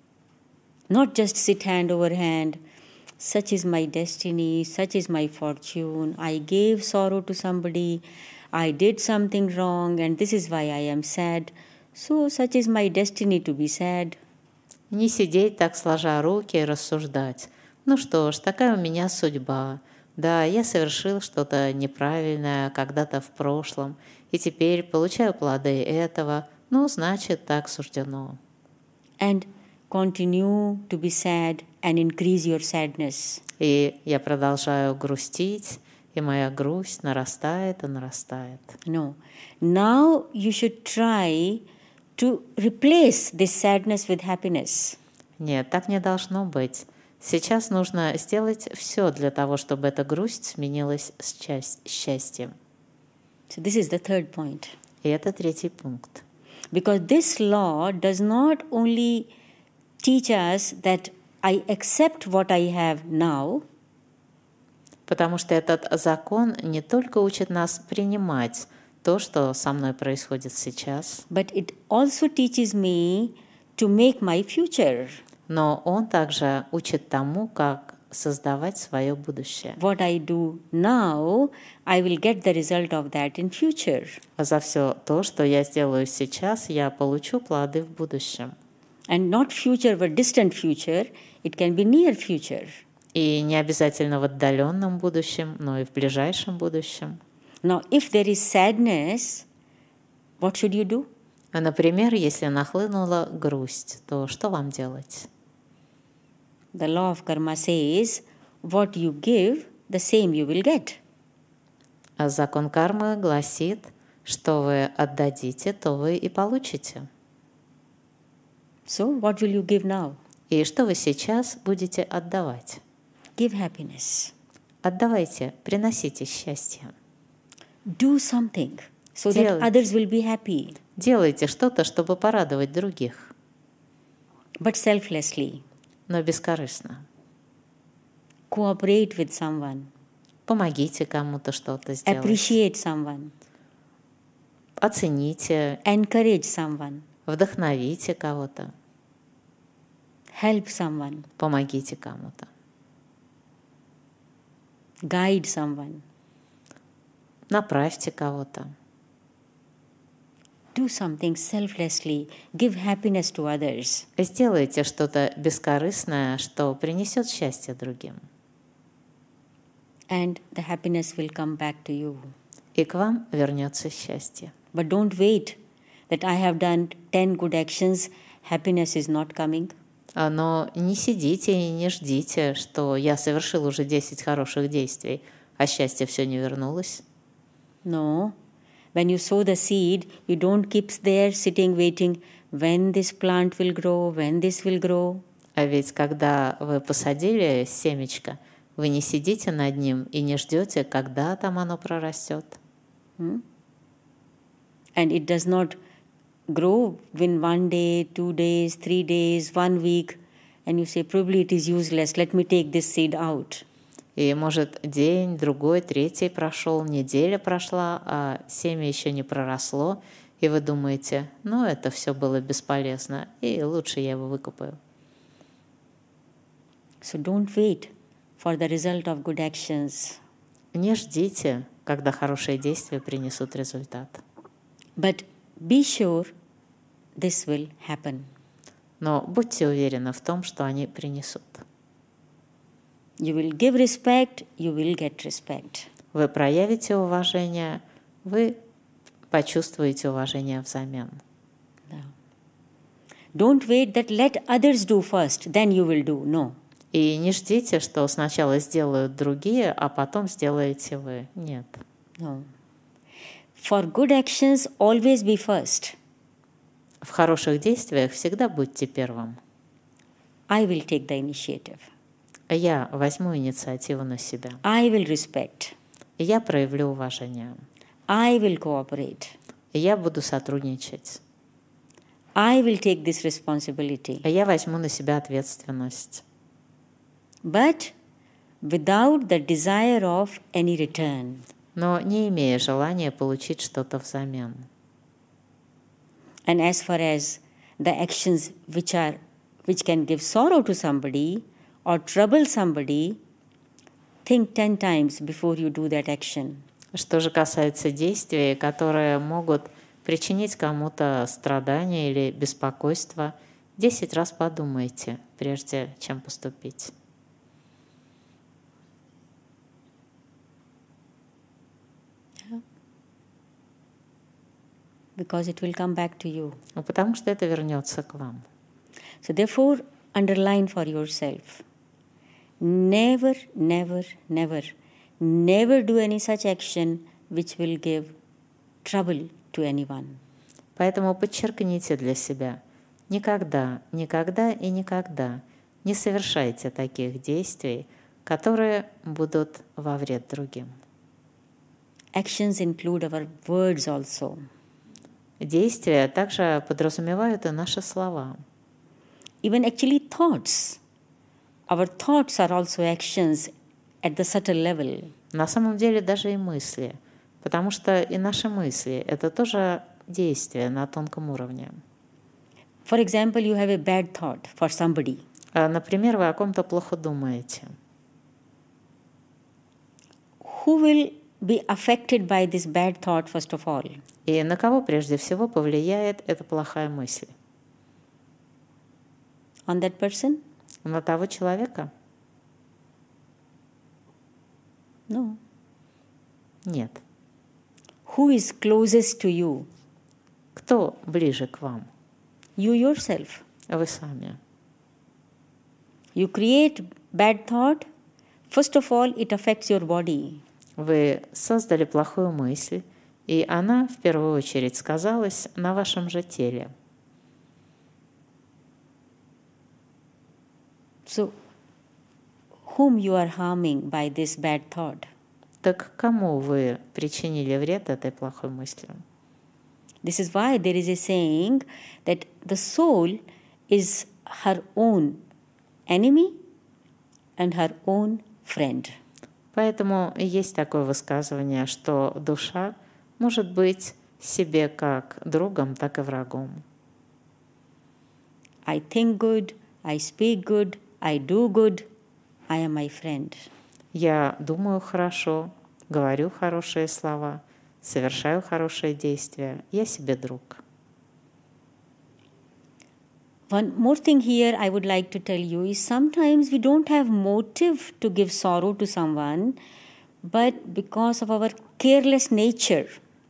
Not just sit hand over hand. Such is my destiny, such is my fortune. I gave sorrow to somebody. I did something wrong, and this is why I am sad. So, such is my destiny to be sad. Не сидеть так, сложа руки, и рассуждать. Ну что ж, такая у меня судьба. Да, я совершил что-то неправильное когда-то в прошлом, и теперь получаю плоды этого. Ну, значит, так суждено. And continue to be sad and increase your sadness. И я продолжаю грустить, и моя грусть нарастает и нарастает. No. Now you should try to replace this sadness with happiness. Нет, так не должно быть. Сейчас нужно сделать все для того, чтобы эта грусть сменилась с счастьем. So this is the third point. И это третий пункт. Because this law does not only teach us that I accept what I have now, Потому что этот закон не только учит нас принимать то, что со мной происходит сейчас, but it also teaches me to make my future. но он также учит тому, как создавать свое будущее. What I do now, I will get the result of that in future. А за все то, что я сделаю сейчас, я получу плоды в будущем. And not future, but distant future. It can be near future. И не обязательно в отдаленном будущем, но и в ближайшем будущем. Now, if there is sadness, what should you do? Например, если нахлынула грусть, то что вам делать? The law of karma says, what you give, the same you will get. А закон кармы гласит, что вы отдадите, то вы и получите. So, what will you give now? И что вы сейчас будете отдавать? Give happiness. Отдавайте, приносите счастье. Do something so that others will be happy. Делайте что-то, чтобы порадовать других, But selflessly. но бескорыстно. Cooperate with someone. Помогите кому-то что-то сделать. Appreciate someone. Оцените, Encourage someone. вдохновите кого-то, Help someone. помогите кому-то, Guide someone. направьте кого-то. Do something selflessly. Give happiness to others. Сделайте что-то бескорыстное, что принесет счастье другим. And the happiness will come back to you. И к вам вернется счастье. But don't wait that I have done 10 good actions, happiness is not coming. Но не sидите и не ждите, что я совершил уже 10 хороших действий, а счастье все не вернулось. No. When you sow the seed, you don't keep there sitting waiting when this plant will grow, when this will grow. А ведь когда вы посадили семечко, вы не сидите над ним и не ждете, когда там оно прорастет. And it does not grow in 1 day, 2 days, 3 days, 1 week, and you say, probably it is useless, let me take this seed out. И может день, другой, третий прошел, неделя прошла, а семя еще не проросло, и вы думаете, ну это все было бесполезно, и лучше я его выкопаю. So don't wait for the result of good actions. Не ждите, когда хорошие действия принесут результат. But be sure this will happen. Но будьте уверены в том, что они принесут. You will give respect, you will get respect. Вы проявите уважение, вы почувствуете уважение взамен. Don't wait that let others do first, then you will do. No. И не ждите, что сначала сделают другие, а потом сделаете вы. Нет. No. For good actions, always be first. В хороших действиях всегда будьте первым. I will take the initiative. Я возьму инициативу на себя. I will respect. И я проявлю уважение. I will cooperate. И я буду сотрудничать. I will take this responsibility. Я возьму на себя ответственность. But without the desire of any return. Но не имея желания получить что-то взамен. And as far as the actions which can give sorrow to somebody or trouble somebody, think 10 times before you do that action. Что же касается действий, которые могут причинить кому-то страдания или беспокойство, 10 раз подумайте, прежде чем поступить. Because it will come back to you. Потому что это вернется к вам. So therefore, underline for yourself. Never, never, never, never do any such action which will give trouble to anyone. Поэтому подчеркните для себя: никогда, никогда и никогда не совершайте таких действий, которые будут во вред другим. Actions include our words also. Действия также подразумевают и наши слова. Even actually thoughts. Our thoughts are also actions at the subtle level. На самом деле даже и мысли, потому что и наши мысли — это тоже действия на тонком уровне. For example, you have a bad thought for somebody. Например, вы о ком-то плохо думаете. Who will be affected by this bad thought first of all? И на кого прежде всего повлияет эта плохая мысль? On that person? На того человека? No. Нет. Who is closest to you? Кто ближе к вам? You yourself. Вы сами. You create bad thought. First of all, it affects your body. Вы создали плохую мысль, и она в первую очередь сказалась на вашем же теле. So, whom you are harming by this bad thought? Так кому вы причинили вред этой плохой мыслью? This is why there is a saying that the soul is her own enemy and her own friend. Поэтому есть такое высказывание, что душа может быть себе как другом, так и врагом. I think good, I speak good, I do good, I am my friend. Я думаю хорошо, говорю хорошие слова, совершаю хорошие действия. Я себе друг. One more thing here I would like to tell you is sometimes we don't have motive to give sorrow to someone, but because of our careless nature,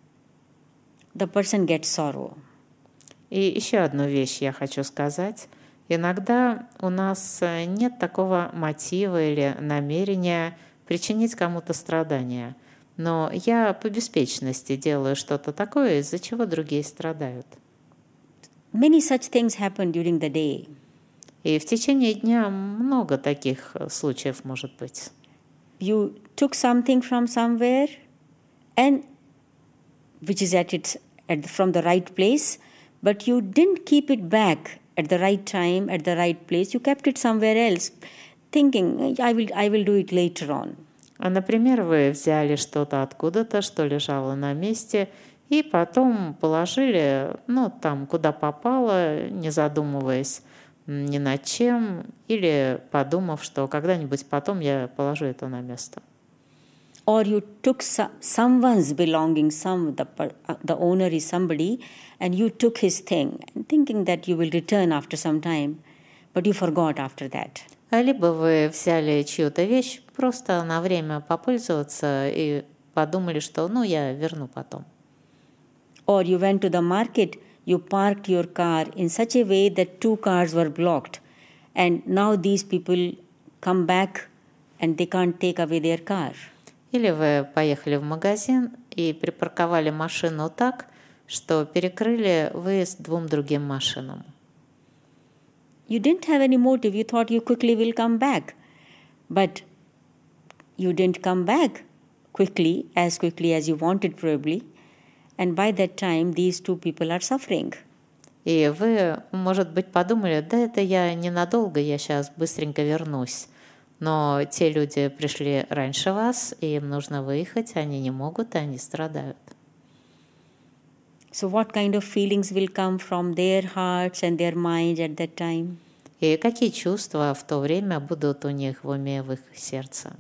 the person gets sorrow. И еще одну вещь я хочу сказать. Иногда у нас нет такого мотива или намерения причинить кому-то страдания, но я по беспечности делаю что-то такое, из-за чего другие страдают. Many such things happen during the day. И в течение дня много таких случаев может быть. You took something from somewhere, and which is from the right place, but you didn't keep it back at the right time, at the right place. You kept it somewhere else, thinking, I will do it later on. Например, вы взяли что-то откуда-то, что лежало на месте, и потом положили, там, куда попало, не задумываясь ни над чем, или подумав, что когда-нибудь потом я положу это на место. Or you took someone's belonging, the owner is somebody, and you took his thing, thinking that you will return after some time, but you forgot after that. Либо вы взяли чью-то вещь просто на время попользоваться и подумали, что я верну потом. Or you went to the market, you parked your car in such a way that 2 cars were blocked, and now these people come back and they can't take away their car. Или вы поехали в магазин и припарковали машину так, что перекрыли выезд 2 другим машинам. You didn't have any motive. You thought you quickly will come back. But you didn't come back quickly as you wanted probably. And by that time, these 2 people are suffering. И вы, может быть, подумали, да это я ненадолго, я сейчас быстренько вернусь. Но те люди пришли раньше вас, и им нужно выехать, они не могут, и они страдают. So what kind of feelings will come from their hearts and their minds at that time? И какие чувства в то время будут у них в уме, в их сердце?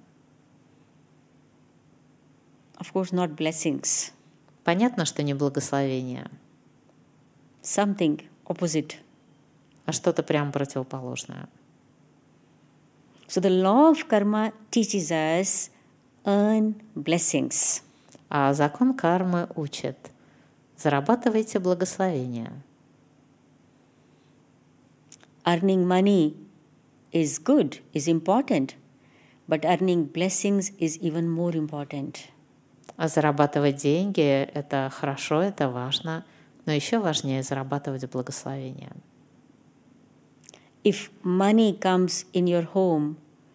Of course, not blessings. Понятно, что не благословение, Something opposite. а что-то прям противоположное. So the law of karma teaches us earn blessings. А закон кармы учит: зарабатывайте благословение. Earning money is good, is important, but earning blessings is even more important. А зарабатывать деньги – это хорошо, это важно, но еще важнее зарабатывать благословение. If money comes in your home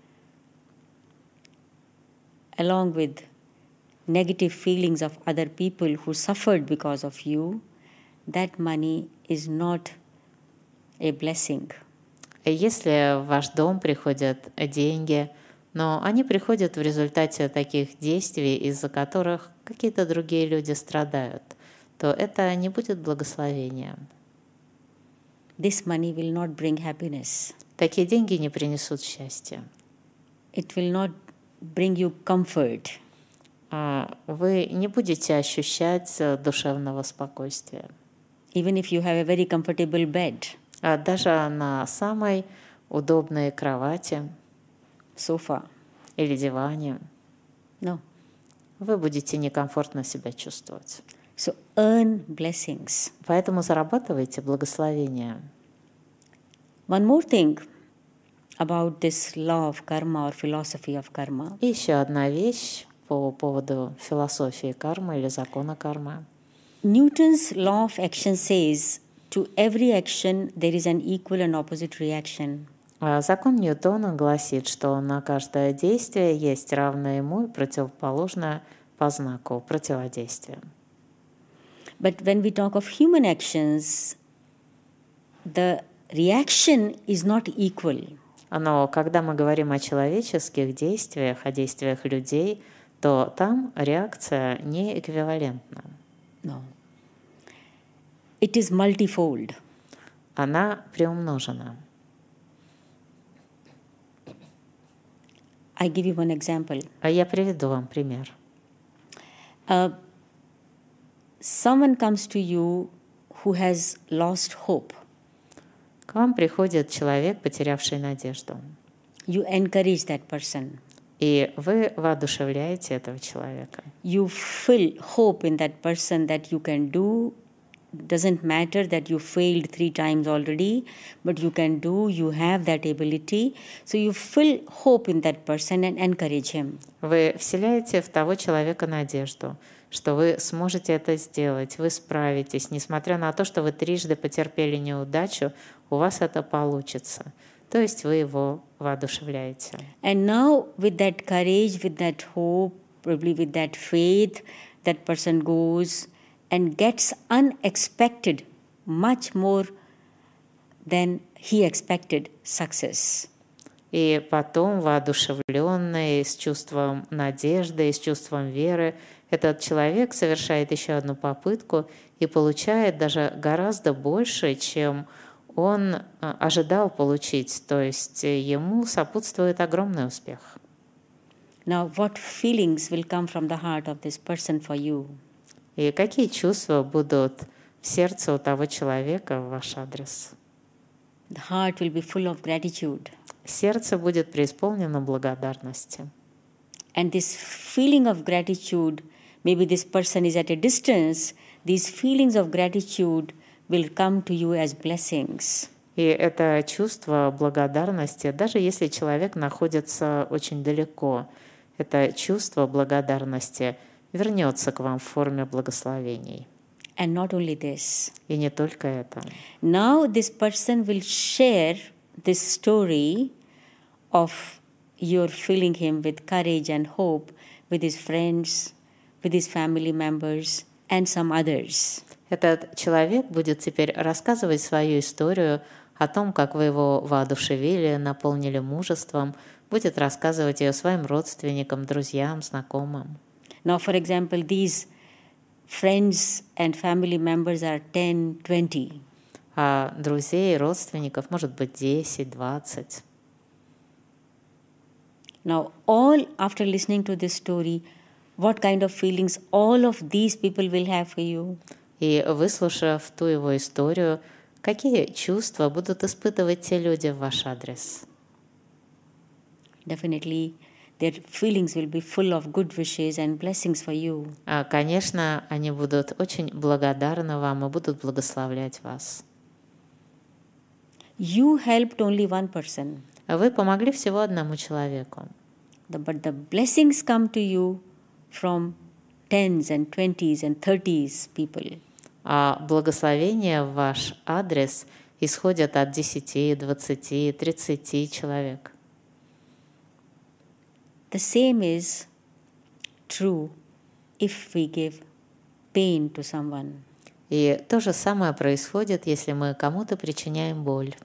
along with negative feelings of other people who suffered because of you, that money is not a blessing. Если в ваш дом приходят деньги, но они приходят в результате таких действий, из-за которых какие-то другие люди страдают, то это не будет благословением. This money will not bring happiness. Такие деньги не принесут счастья. It will not bring you comfort. Вы не будете ощущать душевного спокойствия. Even if you have a very comfortable bed, Даже на самой удобной кровати sofa, или диване no. вы будете некомфортно себя чувствовать. So earn blessings. Поэтому зарабатывайте благословение. One more thing about this law of karma or philosophy of karma. И еще одна вещь по поводу философии кармы или закона кармы. Newton's law of action says, to every action there is an equal and opposite reaction. Закон Ньютона гласит, что на каждое действие есть равное ему и противоположное по знаку противодействия. But when we talk of human actions, the reaction is not equal. Но когда мы говорим о человеческих действиях, о действиях людей, то там реакция не эквивалентна. No. It is multifold. Она приумножена. I give you one example. Я приведу вам пример. Someone comes to you who has lost hope. К вам приходит человек, потерявший надежду. You encourage that person. И вы воодушевляете этого человека. You fill hope in that person that you can do. Doesn't matter that you failed 3 times already, but you can do, you have that ability. So you fill hope in that person and encourage him. Вы вселяете в того человека надежду, что вы сможете это сделать, вы справитесь. Несмотря на то, что вы 3 потерпели неудачу, у вас это получится. То есть вы его воодушевляете. And now with that courage, with that hope, probably with that faith, that person goes and gets unexpected, much more than he expected, success. И потом, воодушевленный, с чувством надежды, с чувством веры, этот человек совершает еще одну попытку и получает даже гораздо больше, чем он ожидал получить. То есть ему сопутствует огромный успех. Now, what feelings will come from the heart of this person for you? И какие чувства будут в сердце у того человека в ваш адрес? The heart will be full of gratitude. Сердце будет преисполнено благодарности. And this feeling of gratitude, maybe this person is at a distance, these feelings of gratitude will come to you as blessings. И это чувство благодарности, даже если человек находится очень далеко, это чувство благодарности вернется к вам в форме благословений. And not only this. И не только это. Now this person will share this story of your filling him with courage and hope with his friends, with his family members, and some others. Этот человек будет теперь рассказывать свою историю о том, как вы его воодушевили, наполнили мужеством, будет рассказывать ее своим родственникам, друзьям, знакомым. Now, for example, these friends and family members are 10, 20. А друзей, родственников может быть 10, 20. Now, all after listening to this story, what kind of feelings all of these people will have for you? И выслушав ту его историю, какие чувства будут испытывать те люди в ваш адрес? Definitely, their feelings will be full of good wishes and blessings for you. Конечно, они будут очень благодарны вам и будут благословлять вас. You helped only one person, Вы помогли всего одному человеку. but the blessings come to you from tens and 20s and 30s people. А благословения в ваш адрес исходят от 10, 20, 30 человек. The same is true if we give pain to someone. И то же самое происходит, если мы кому-то причиняем боль.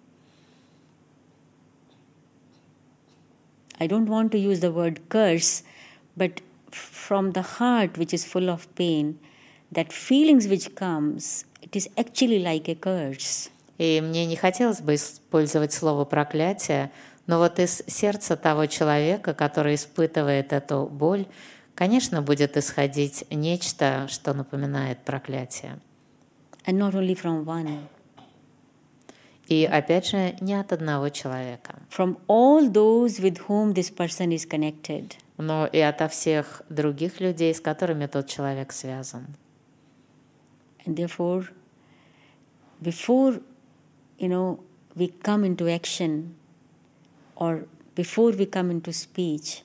I don't want to use the word curse, but from the heart which is full of pain, that feelings which comes, it is actually like a curse. И мне не хотелось бы использовать слово «проклятие», но вот из сердца того человека, который испытывает эту боль, конечно, будет исходить нечто, что напоминает проклятие. And not only from one. И опять же, не от одного человека, From all those with whom this person is connected. но и ото всех других людей, с которыми тот человек связан. And therefore, before, we come into action or before we come into speech,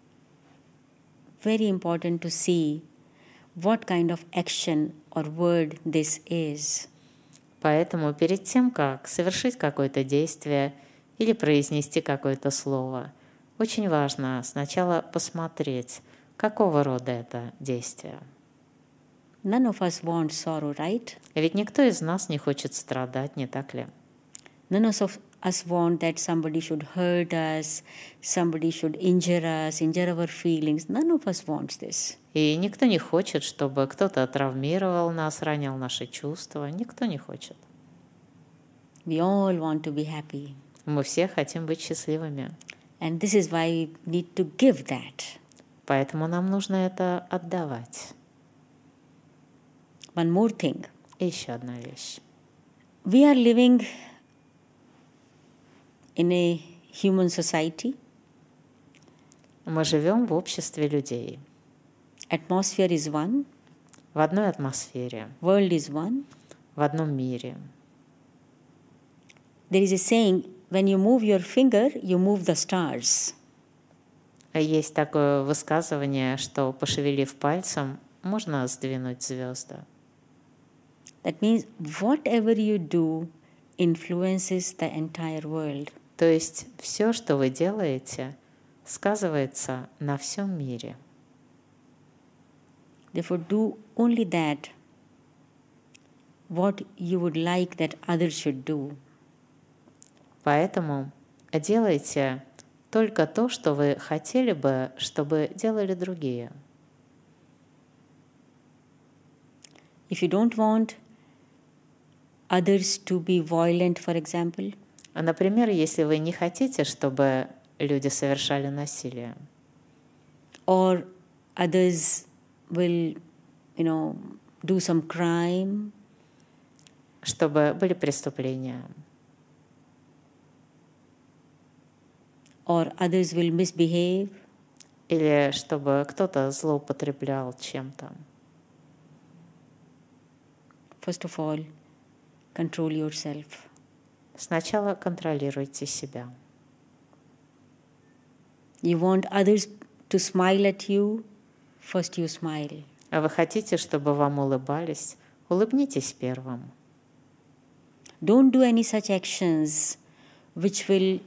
very important to see what kind of action or word this is. Поэтому перед тем, как совершить какое-то действие или произнести какое-то слово, очень важно сначала посмотреть, какого рода это действие. None of us want sorrow, right? Ведь никто из нас не хочет страдать, не так ли? None of us want that somebody should hurt us, somebody should injure us, injure our feelings. None of us wants this. И никто не хочет, чтобы кто-то травмировал нас, ранил наши чувства. Никто не хочет. We all want to be happy. Мы все хотим быть счастливыми. And this is why we need to give that. Поэтому нам нужно это отдавать. One more thing. И еще одна вещь. We are living in a human society. Мы живем в обществе людей. Atmosphere is one. В одной атмосфере. World is one. В одном мире. There is a saying, when you move your finger, you move the stars. Есть такое высказывание, что, пошевелив пальцем, можно сдвинуть звезды. That means whatever you do influences the entire world. То есть все, что вы делаете, сказывается на всем мире. Therefore, do only that what you would like that others should do. Поэтому делайте только то, что вы хотели бы, чтобы делали другие. If you don't want others to be violent, for example, Например, если вы не хотите, чтобы люди совершали насилие, or others will, do some crime, чтобы были преступления, or others will misbehave, или чтобы кто-то злоупотреблял чем-то. first of all, control yourself. Сначала контролируйте себя. You want others to smile at you, first you smile. А вы хотите, чтобы вам улыбались? Улыбнитесь первым. Don't do any such actions which will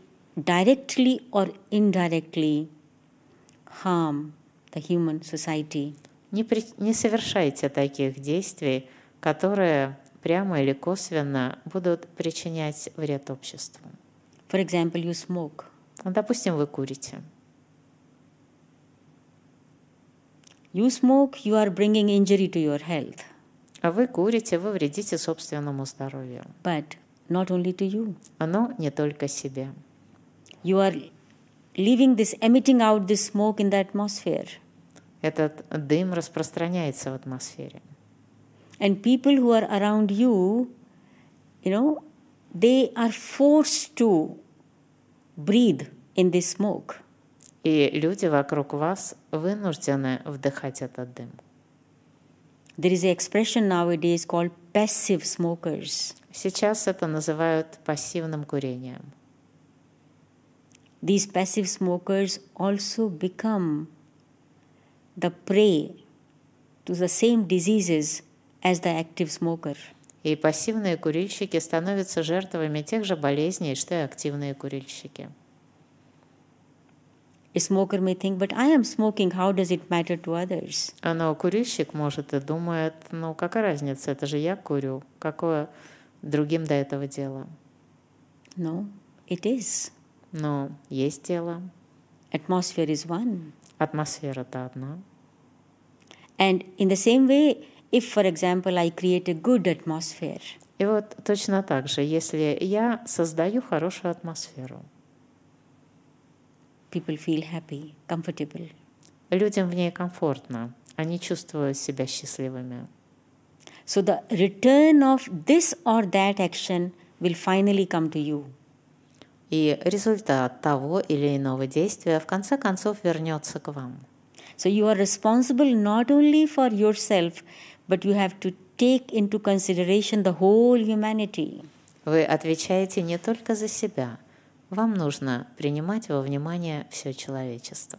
directly or indirectly harm the human society. Не совершайте таких действий, которые прямо или косвенно будут причинять вред обществу. For example, you smoke. Допустим, вы курите. You smoke, you are bringing injury to your health. А вы курите, вы вредите собственному здоровью. But not only to you. Но не только себе. You are emitting out this smoke in the atmosphere. Этот дым распространяется в атмосфере. And people who are around you, they are forced to breathe in this smoke. И люди вокруг вас вынуждены вдыхать этот дым. There is an expression nowadays called passive smokers. Сейчас это называют пассивным курением. These passive smokers also become the prey to the same diseases as the active smoker. И пассивные курильщики становятся жертвами тех же болезней, что и активные курильщики. A smoker may think, but I am smoking, how does it matter to others? Но курильщик может и думает, какая разница, это же я курю, какое другим до этого дело? No, it is. Но есть дело. Atmosphere is one. Атмосфера-то одна. And in the same way, if, for example, I create a good atmosphere. И вот точно так же, если я создаю хорошую атмосферу, people feel happy, comfortable. Людям в ней комфортно, они чувствуют себя счастливыми. So the return of this or that action will finally come to you. И результат того или иного действия в конце концов вернется к вам. So you are responsible not only for yourself, but you have to take into consideration the whole humanity. Вы отвечаете не только за себя. Вам нужно принимать во внимание все человечество.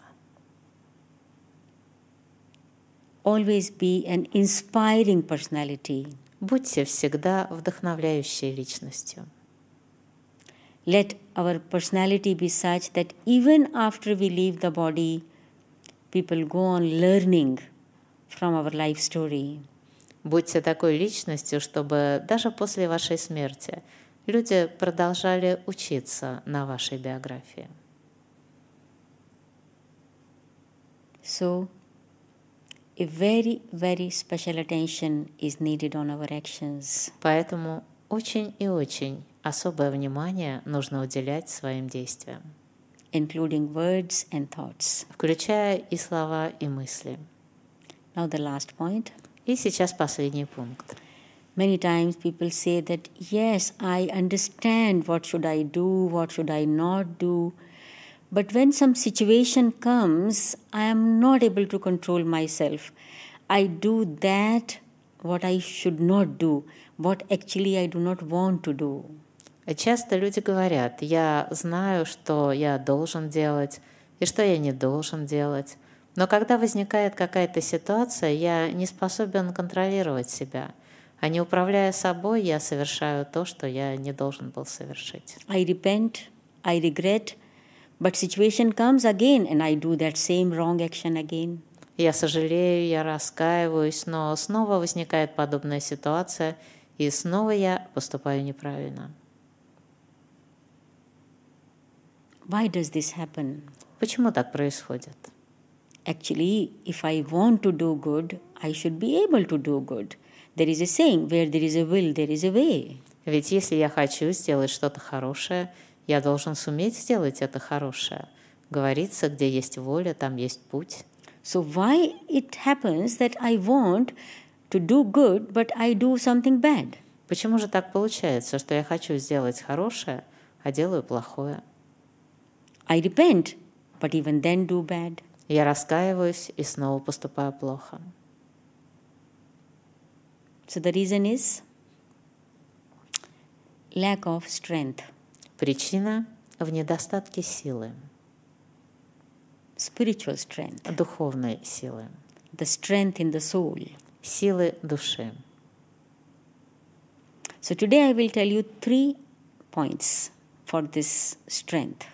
Always be an inspiring personality. Будьте всегда вдохновляющей личностью. Let our personality be such that even after we leave the body, people go on learning from our life story. Будьте такой личностью, чтобы даже после вашей смерти люди продолжали учиться на вашей биографии. So, a very, very special attention is needed on our actions. Поэтому очень и очень особое внимание нужно уделять своим действиям, including words and thoughts. включая и слова, и мысли. Now the last point. И сейчас последний пункт. Many times people say that, yes, I understand what should I do, what should I not do. But when some situation comes, I am not able to control myself. I do that what I should not do, what actually I do not want to do. Часто люди говорят, я знаю, что я должен делать и что я не должен делать. Но когда возникает какая-то ситуация, я не способен контролировать себя. А не управляя собой, я совершаю то, что я не должен был совершить. I repent, I regret, but situation comes again and I do that same wrong action again. Я сожалею, я раскаиваюсь, но снова возникает подобная ситуация, и снова я поступаю неправильно. Why does this happen? Почему так происходит? Actually, if I want to do good, I should be able to do good. There is a saying, where there is a will, there is a way. Ведь если я хочу сделать что-то хорошее, я должен суметь сделать это хорошее. Говорится, где есть воля, там есть путь. So why it happens that I want to do good, but I do something bad? Почему же так получается, что я хочу сделать хорошее, а делаю плохое? I repent, but even then do bad. Я раскаиваюсь и снова поступаю плохо. So the reason is lack of strength. Причина в недостатке силы, Spiritual strength. духовной силы, The strength in the soul. силы души. So today I will tell you 3 points for this strength.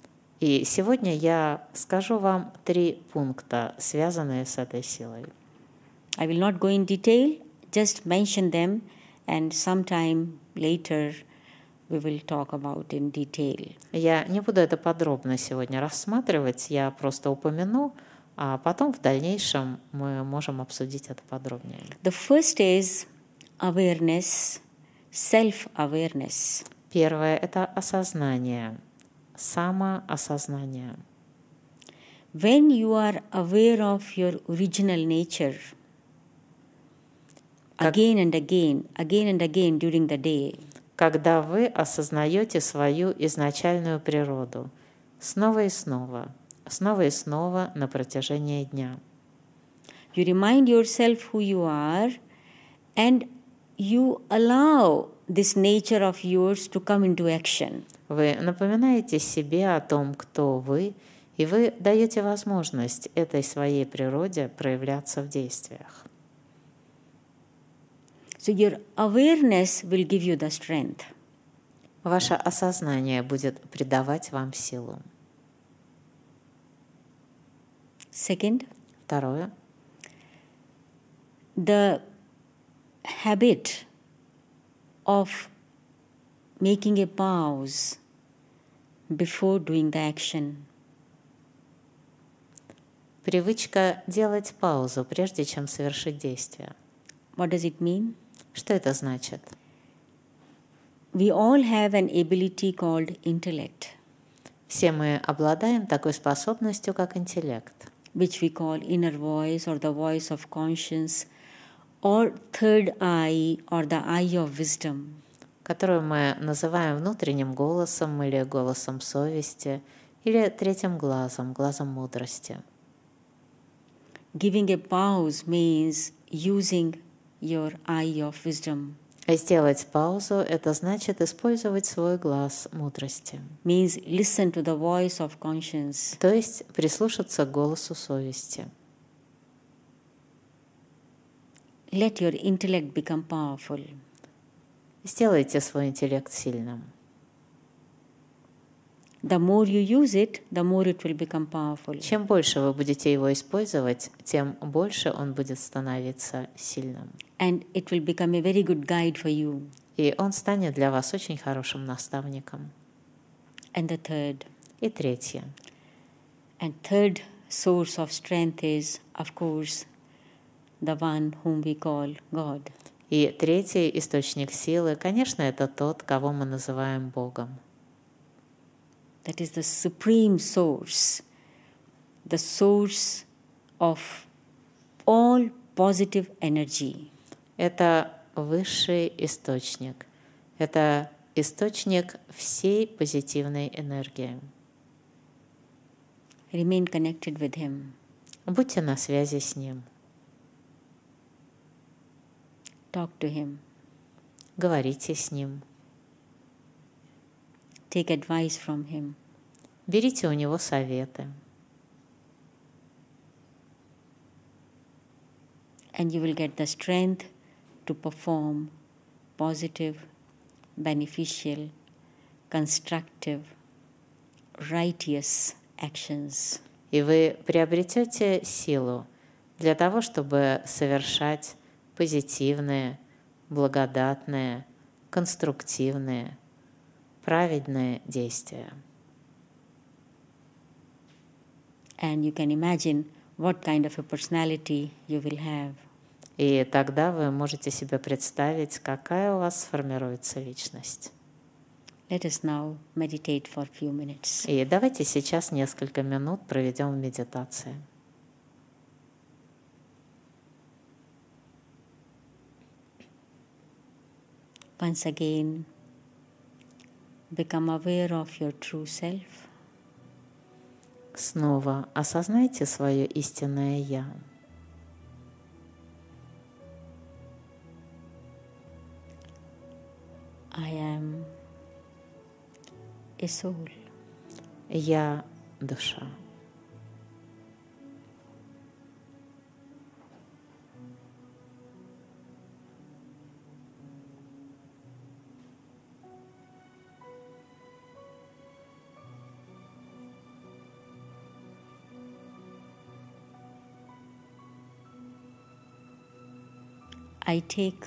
И сегодня я скажу вам 3 пункта, связанные с этой силой. I will not go in detail, just mention them, and sometime later we will talk about in detail. Я не буду это подробно сегодня рассматривать, я просто упомяну, а потом в дальнейшем мы можем обсудить это подробнее. The first is awareness, self-awareness. Первое – это осознание, самоосознание. When you are aware of your original nature, again and again during the day, Когда вы осознаете свою изначальную природу снова и снова на протяжении дня. you remind yourself who you are and you allow this nature of yours to come into action. Вы напоминаете себе о том, кто вы, и вы даете возможность этой своей природе проявляться в действиях. So your awareness will give you the strength. Ваше осознание будет придавать вам силу. Second, Второе. the habit of making a pause before doing the action. Привычка делать паузу, прежде чем совершить действие. What does it mean? Что это значит? We all have an ability called intellect, Все мы обладаем такой способностью, как интеллект, which we call inner voice or the voice of conscience or third eye or the eye of wisdom. которую мы называем внутренним голосом или голосом совести, или третьим глазом, глазом мудрости. Giving a pause means using your eye of wisdom, Сделать паузу – это значит использовать свой глаз мудрости, means listen to the voice of conscience. то есть прислушаться к голосу совести. Let your intellect become powerful. Сделайте свой интеллект сильным. The more you use it, the more it will become powerful. Чем больше вы будете его использовать, тем больше он будет становиться сильным. And it will become a very good guide for you. И он станет для вас очень хорошим наставником. And the third. И третье. And third source of strength is, of course, the one whom we call God. И третий источник силы, конечно, это тот, кого мы называем Богом. That is the supreme source, the source of all positive energy. Это высший источник. Это источник всей позитивной энергии. Remain connected with Him. Будьте на связи с Ним. Talk to Him. Говорите с Ним. Take advice from Him. Берите у Него советы. And you will get the strength to perform positive, beneficial, constructive, righteous actions. И вы приобретете силу для того, чтобы совершать позитивные, благодатные, конструктивные, праведные действия. And you can imagine what kind of a personality you will have. И тогда вы можете себе представить, какая у вас сформируется личность. Let us now meditate for a few minutes. И давайте сейчас несколько минут проведем в медитации. Once again, become aware of your true self. Снова осознайте свое истинное «Я». I am a soul. Я – душа. I take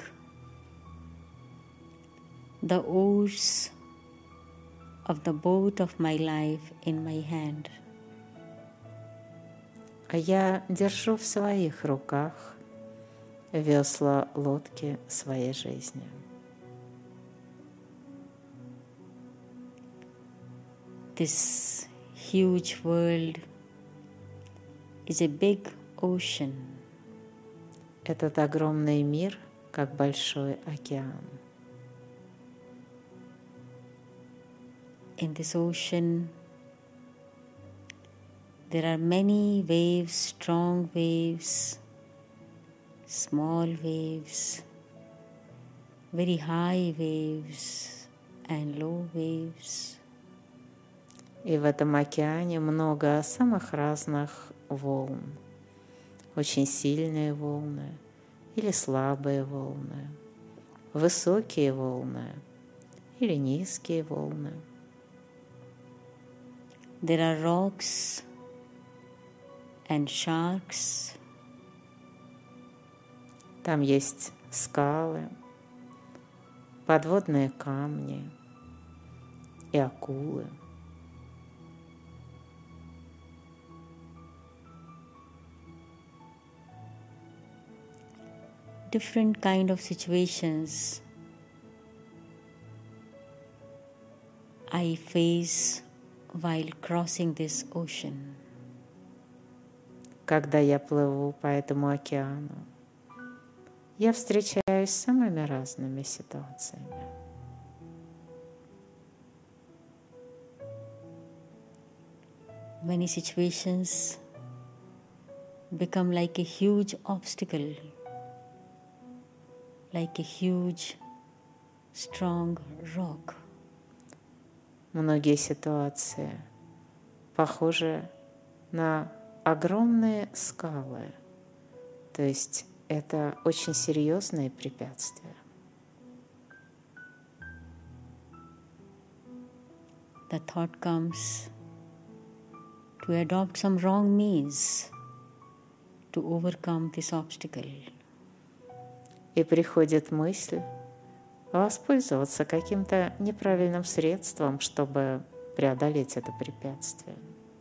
the oars of the boat of my life in my hand. А я держу в своих руках весла лодки своей жизни. This huge world is a big ocean. Этот огромный мир, как большой океан. In this ocean, there are many waves, strong waves, small waves, very high waves and low waves. И в этом океане много самых разных волн. Очень сильные волны или слабые волны, высокие волны или низкие волны. There are rocks and sharks. Там есть скалы, подводные камни и акулы. Different kind of situations I face while crossing this ocean. Когда я плыву по этому океану, я встречаюсь с самыми разными ситуациями. Many situations become like a huge obstacle, like a huge, strong rock. Многие ситуации похожи на огромные скалы, то есть это очень серьезные препятствия. The thought comes to adopt some wrong means to overcome this obstacle. И приходит мысль воспользоваться каким-то неправильным средством, чтобы преодолеть это препятствие.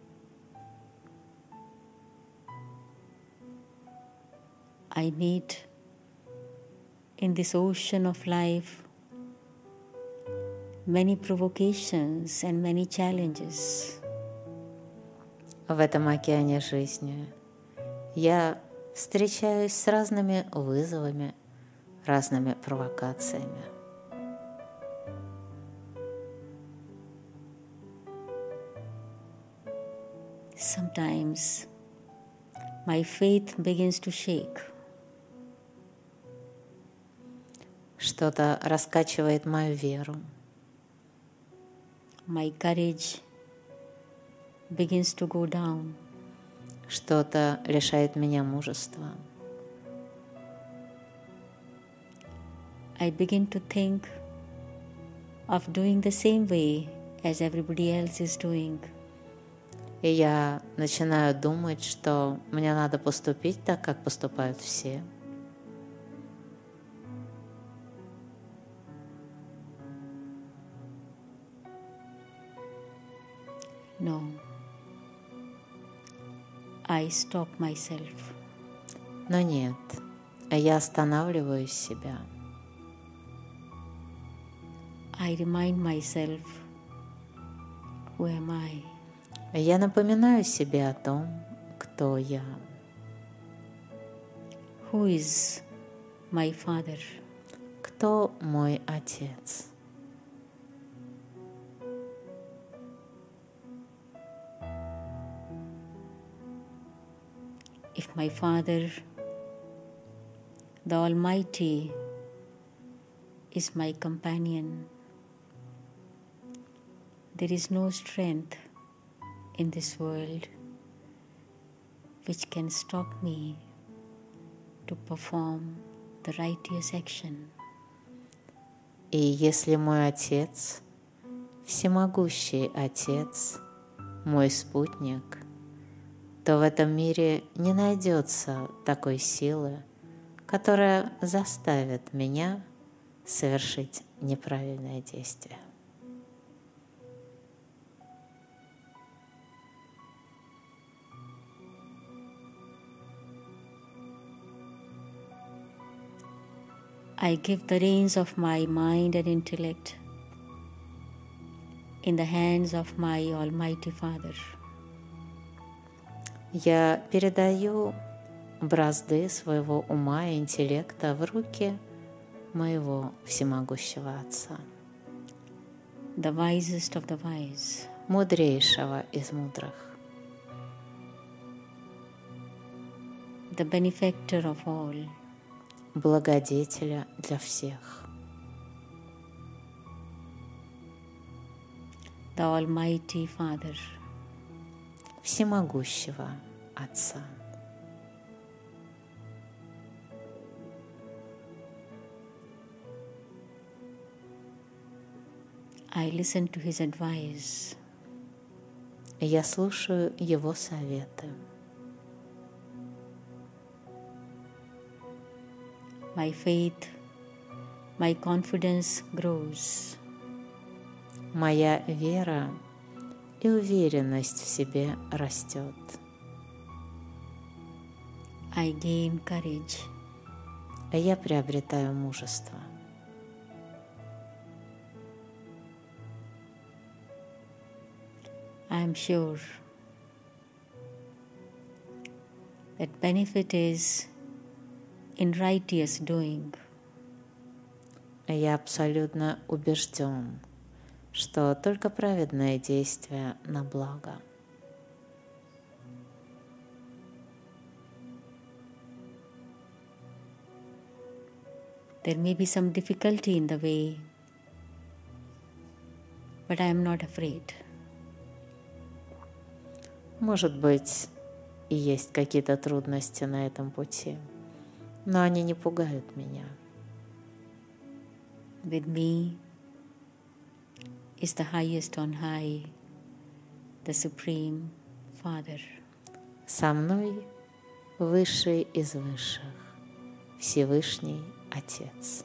I meet in this ocean of life many provocations and many challenges. В этом океане жизни я встречаюсь с разными вызовами, разными провокациями. Sometimes my faith begins to shake. Что-то раскачивает мою веру. My courage begins to go down. Что-то лишает меня мужества. I begin to think of doing the same way as everybody else is doing. И я начинаю думать, что мне надо поступить так, как поступают все. No. I stop myself. Но нет, я останавливаю себя. I remind myself, who am I? Я напоминаю себе о том, кто я. Who is my father? Кто мой отец? If my Father, the Almighty, is my companion, there is no strength in this world which can stop me to perform the righteous action. И если мой Отец, всемогущий Отец, мой спутник, то в этом мире не найдется такой силы, которое заставит меня совершить неправильное действие. I give the reins of my mind and intellect in the hands of my Almighty Father. Я передаю бразды своего ума и интеллекта в руки моего всемогущего Отца, the wisest of the wise, мудрейшего из мудрых, the benefactor of all, благодетеля для всех, the Almighty Father, всемогущего Отца. I listen to His advice. Я слушаю Его советы. My faith, my confidence grows. Моя вера и уверенность в себе растет. I gain courage. Я приобретаю мужество. I am sure that benefit is in righteous doing. Я абсолютно убежден, что только праведное действие на благо. There may be some difficulty in the way, but I am not afraid. Может быть, и есть какие-то трудности на этом пути, но они не пугают меня. With me is the highest on high, the Supreme Father. Со мной высший из высших, Всевышний Отец.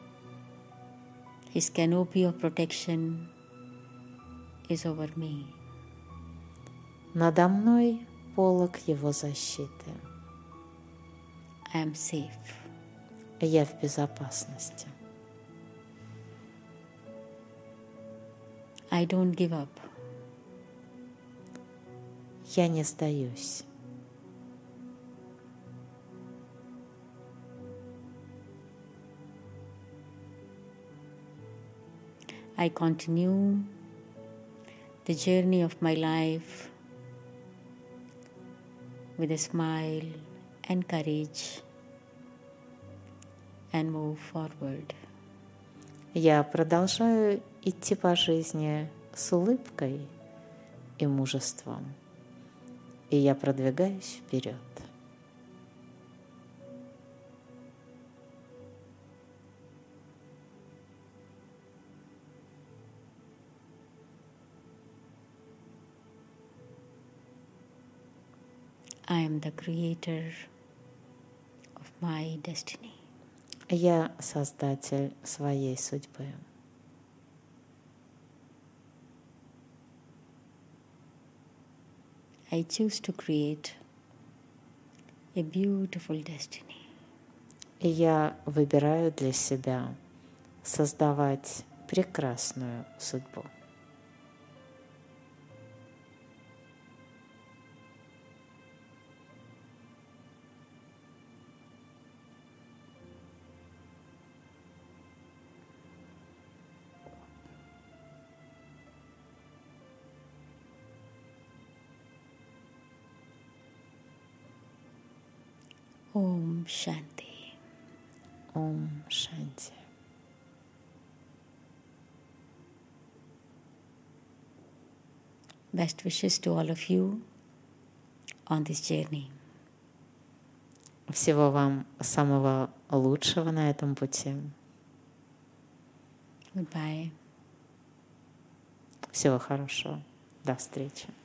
His canopy of protection is over me. Надо мной полог Его защиты. I am safe. Я в безопасности. I don't give up. Я не сдаюсь. I continue the journey of my life with a smile and courage and move forward. Я продолжаю идти по жизни с улыбкой и мужеством, и я продвигаюсь вперед. I am the creator of my destiny. Я создатель своей судьбы. I choose to create a beautiful destiny. И я выбираю для себя создавать прекрасную судьбу. Om Shanti. Ом Шанти. Best wishes to all of you on this journey. Всего вам самого лучшего на этом пути. Goodbye. Всего хорошего. До встречи.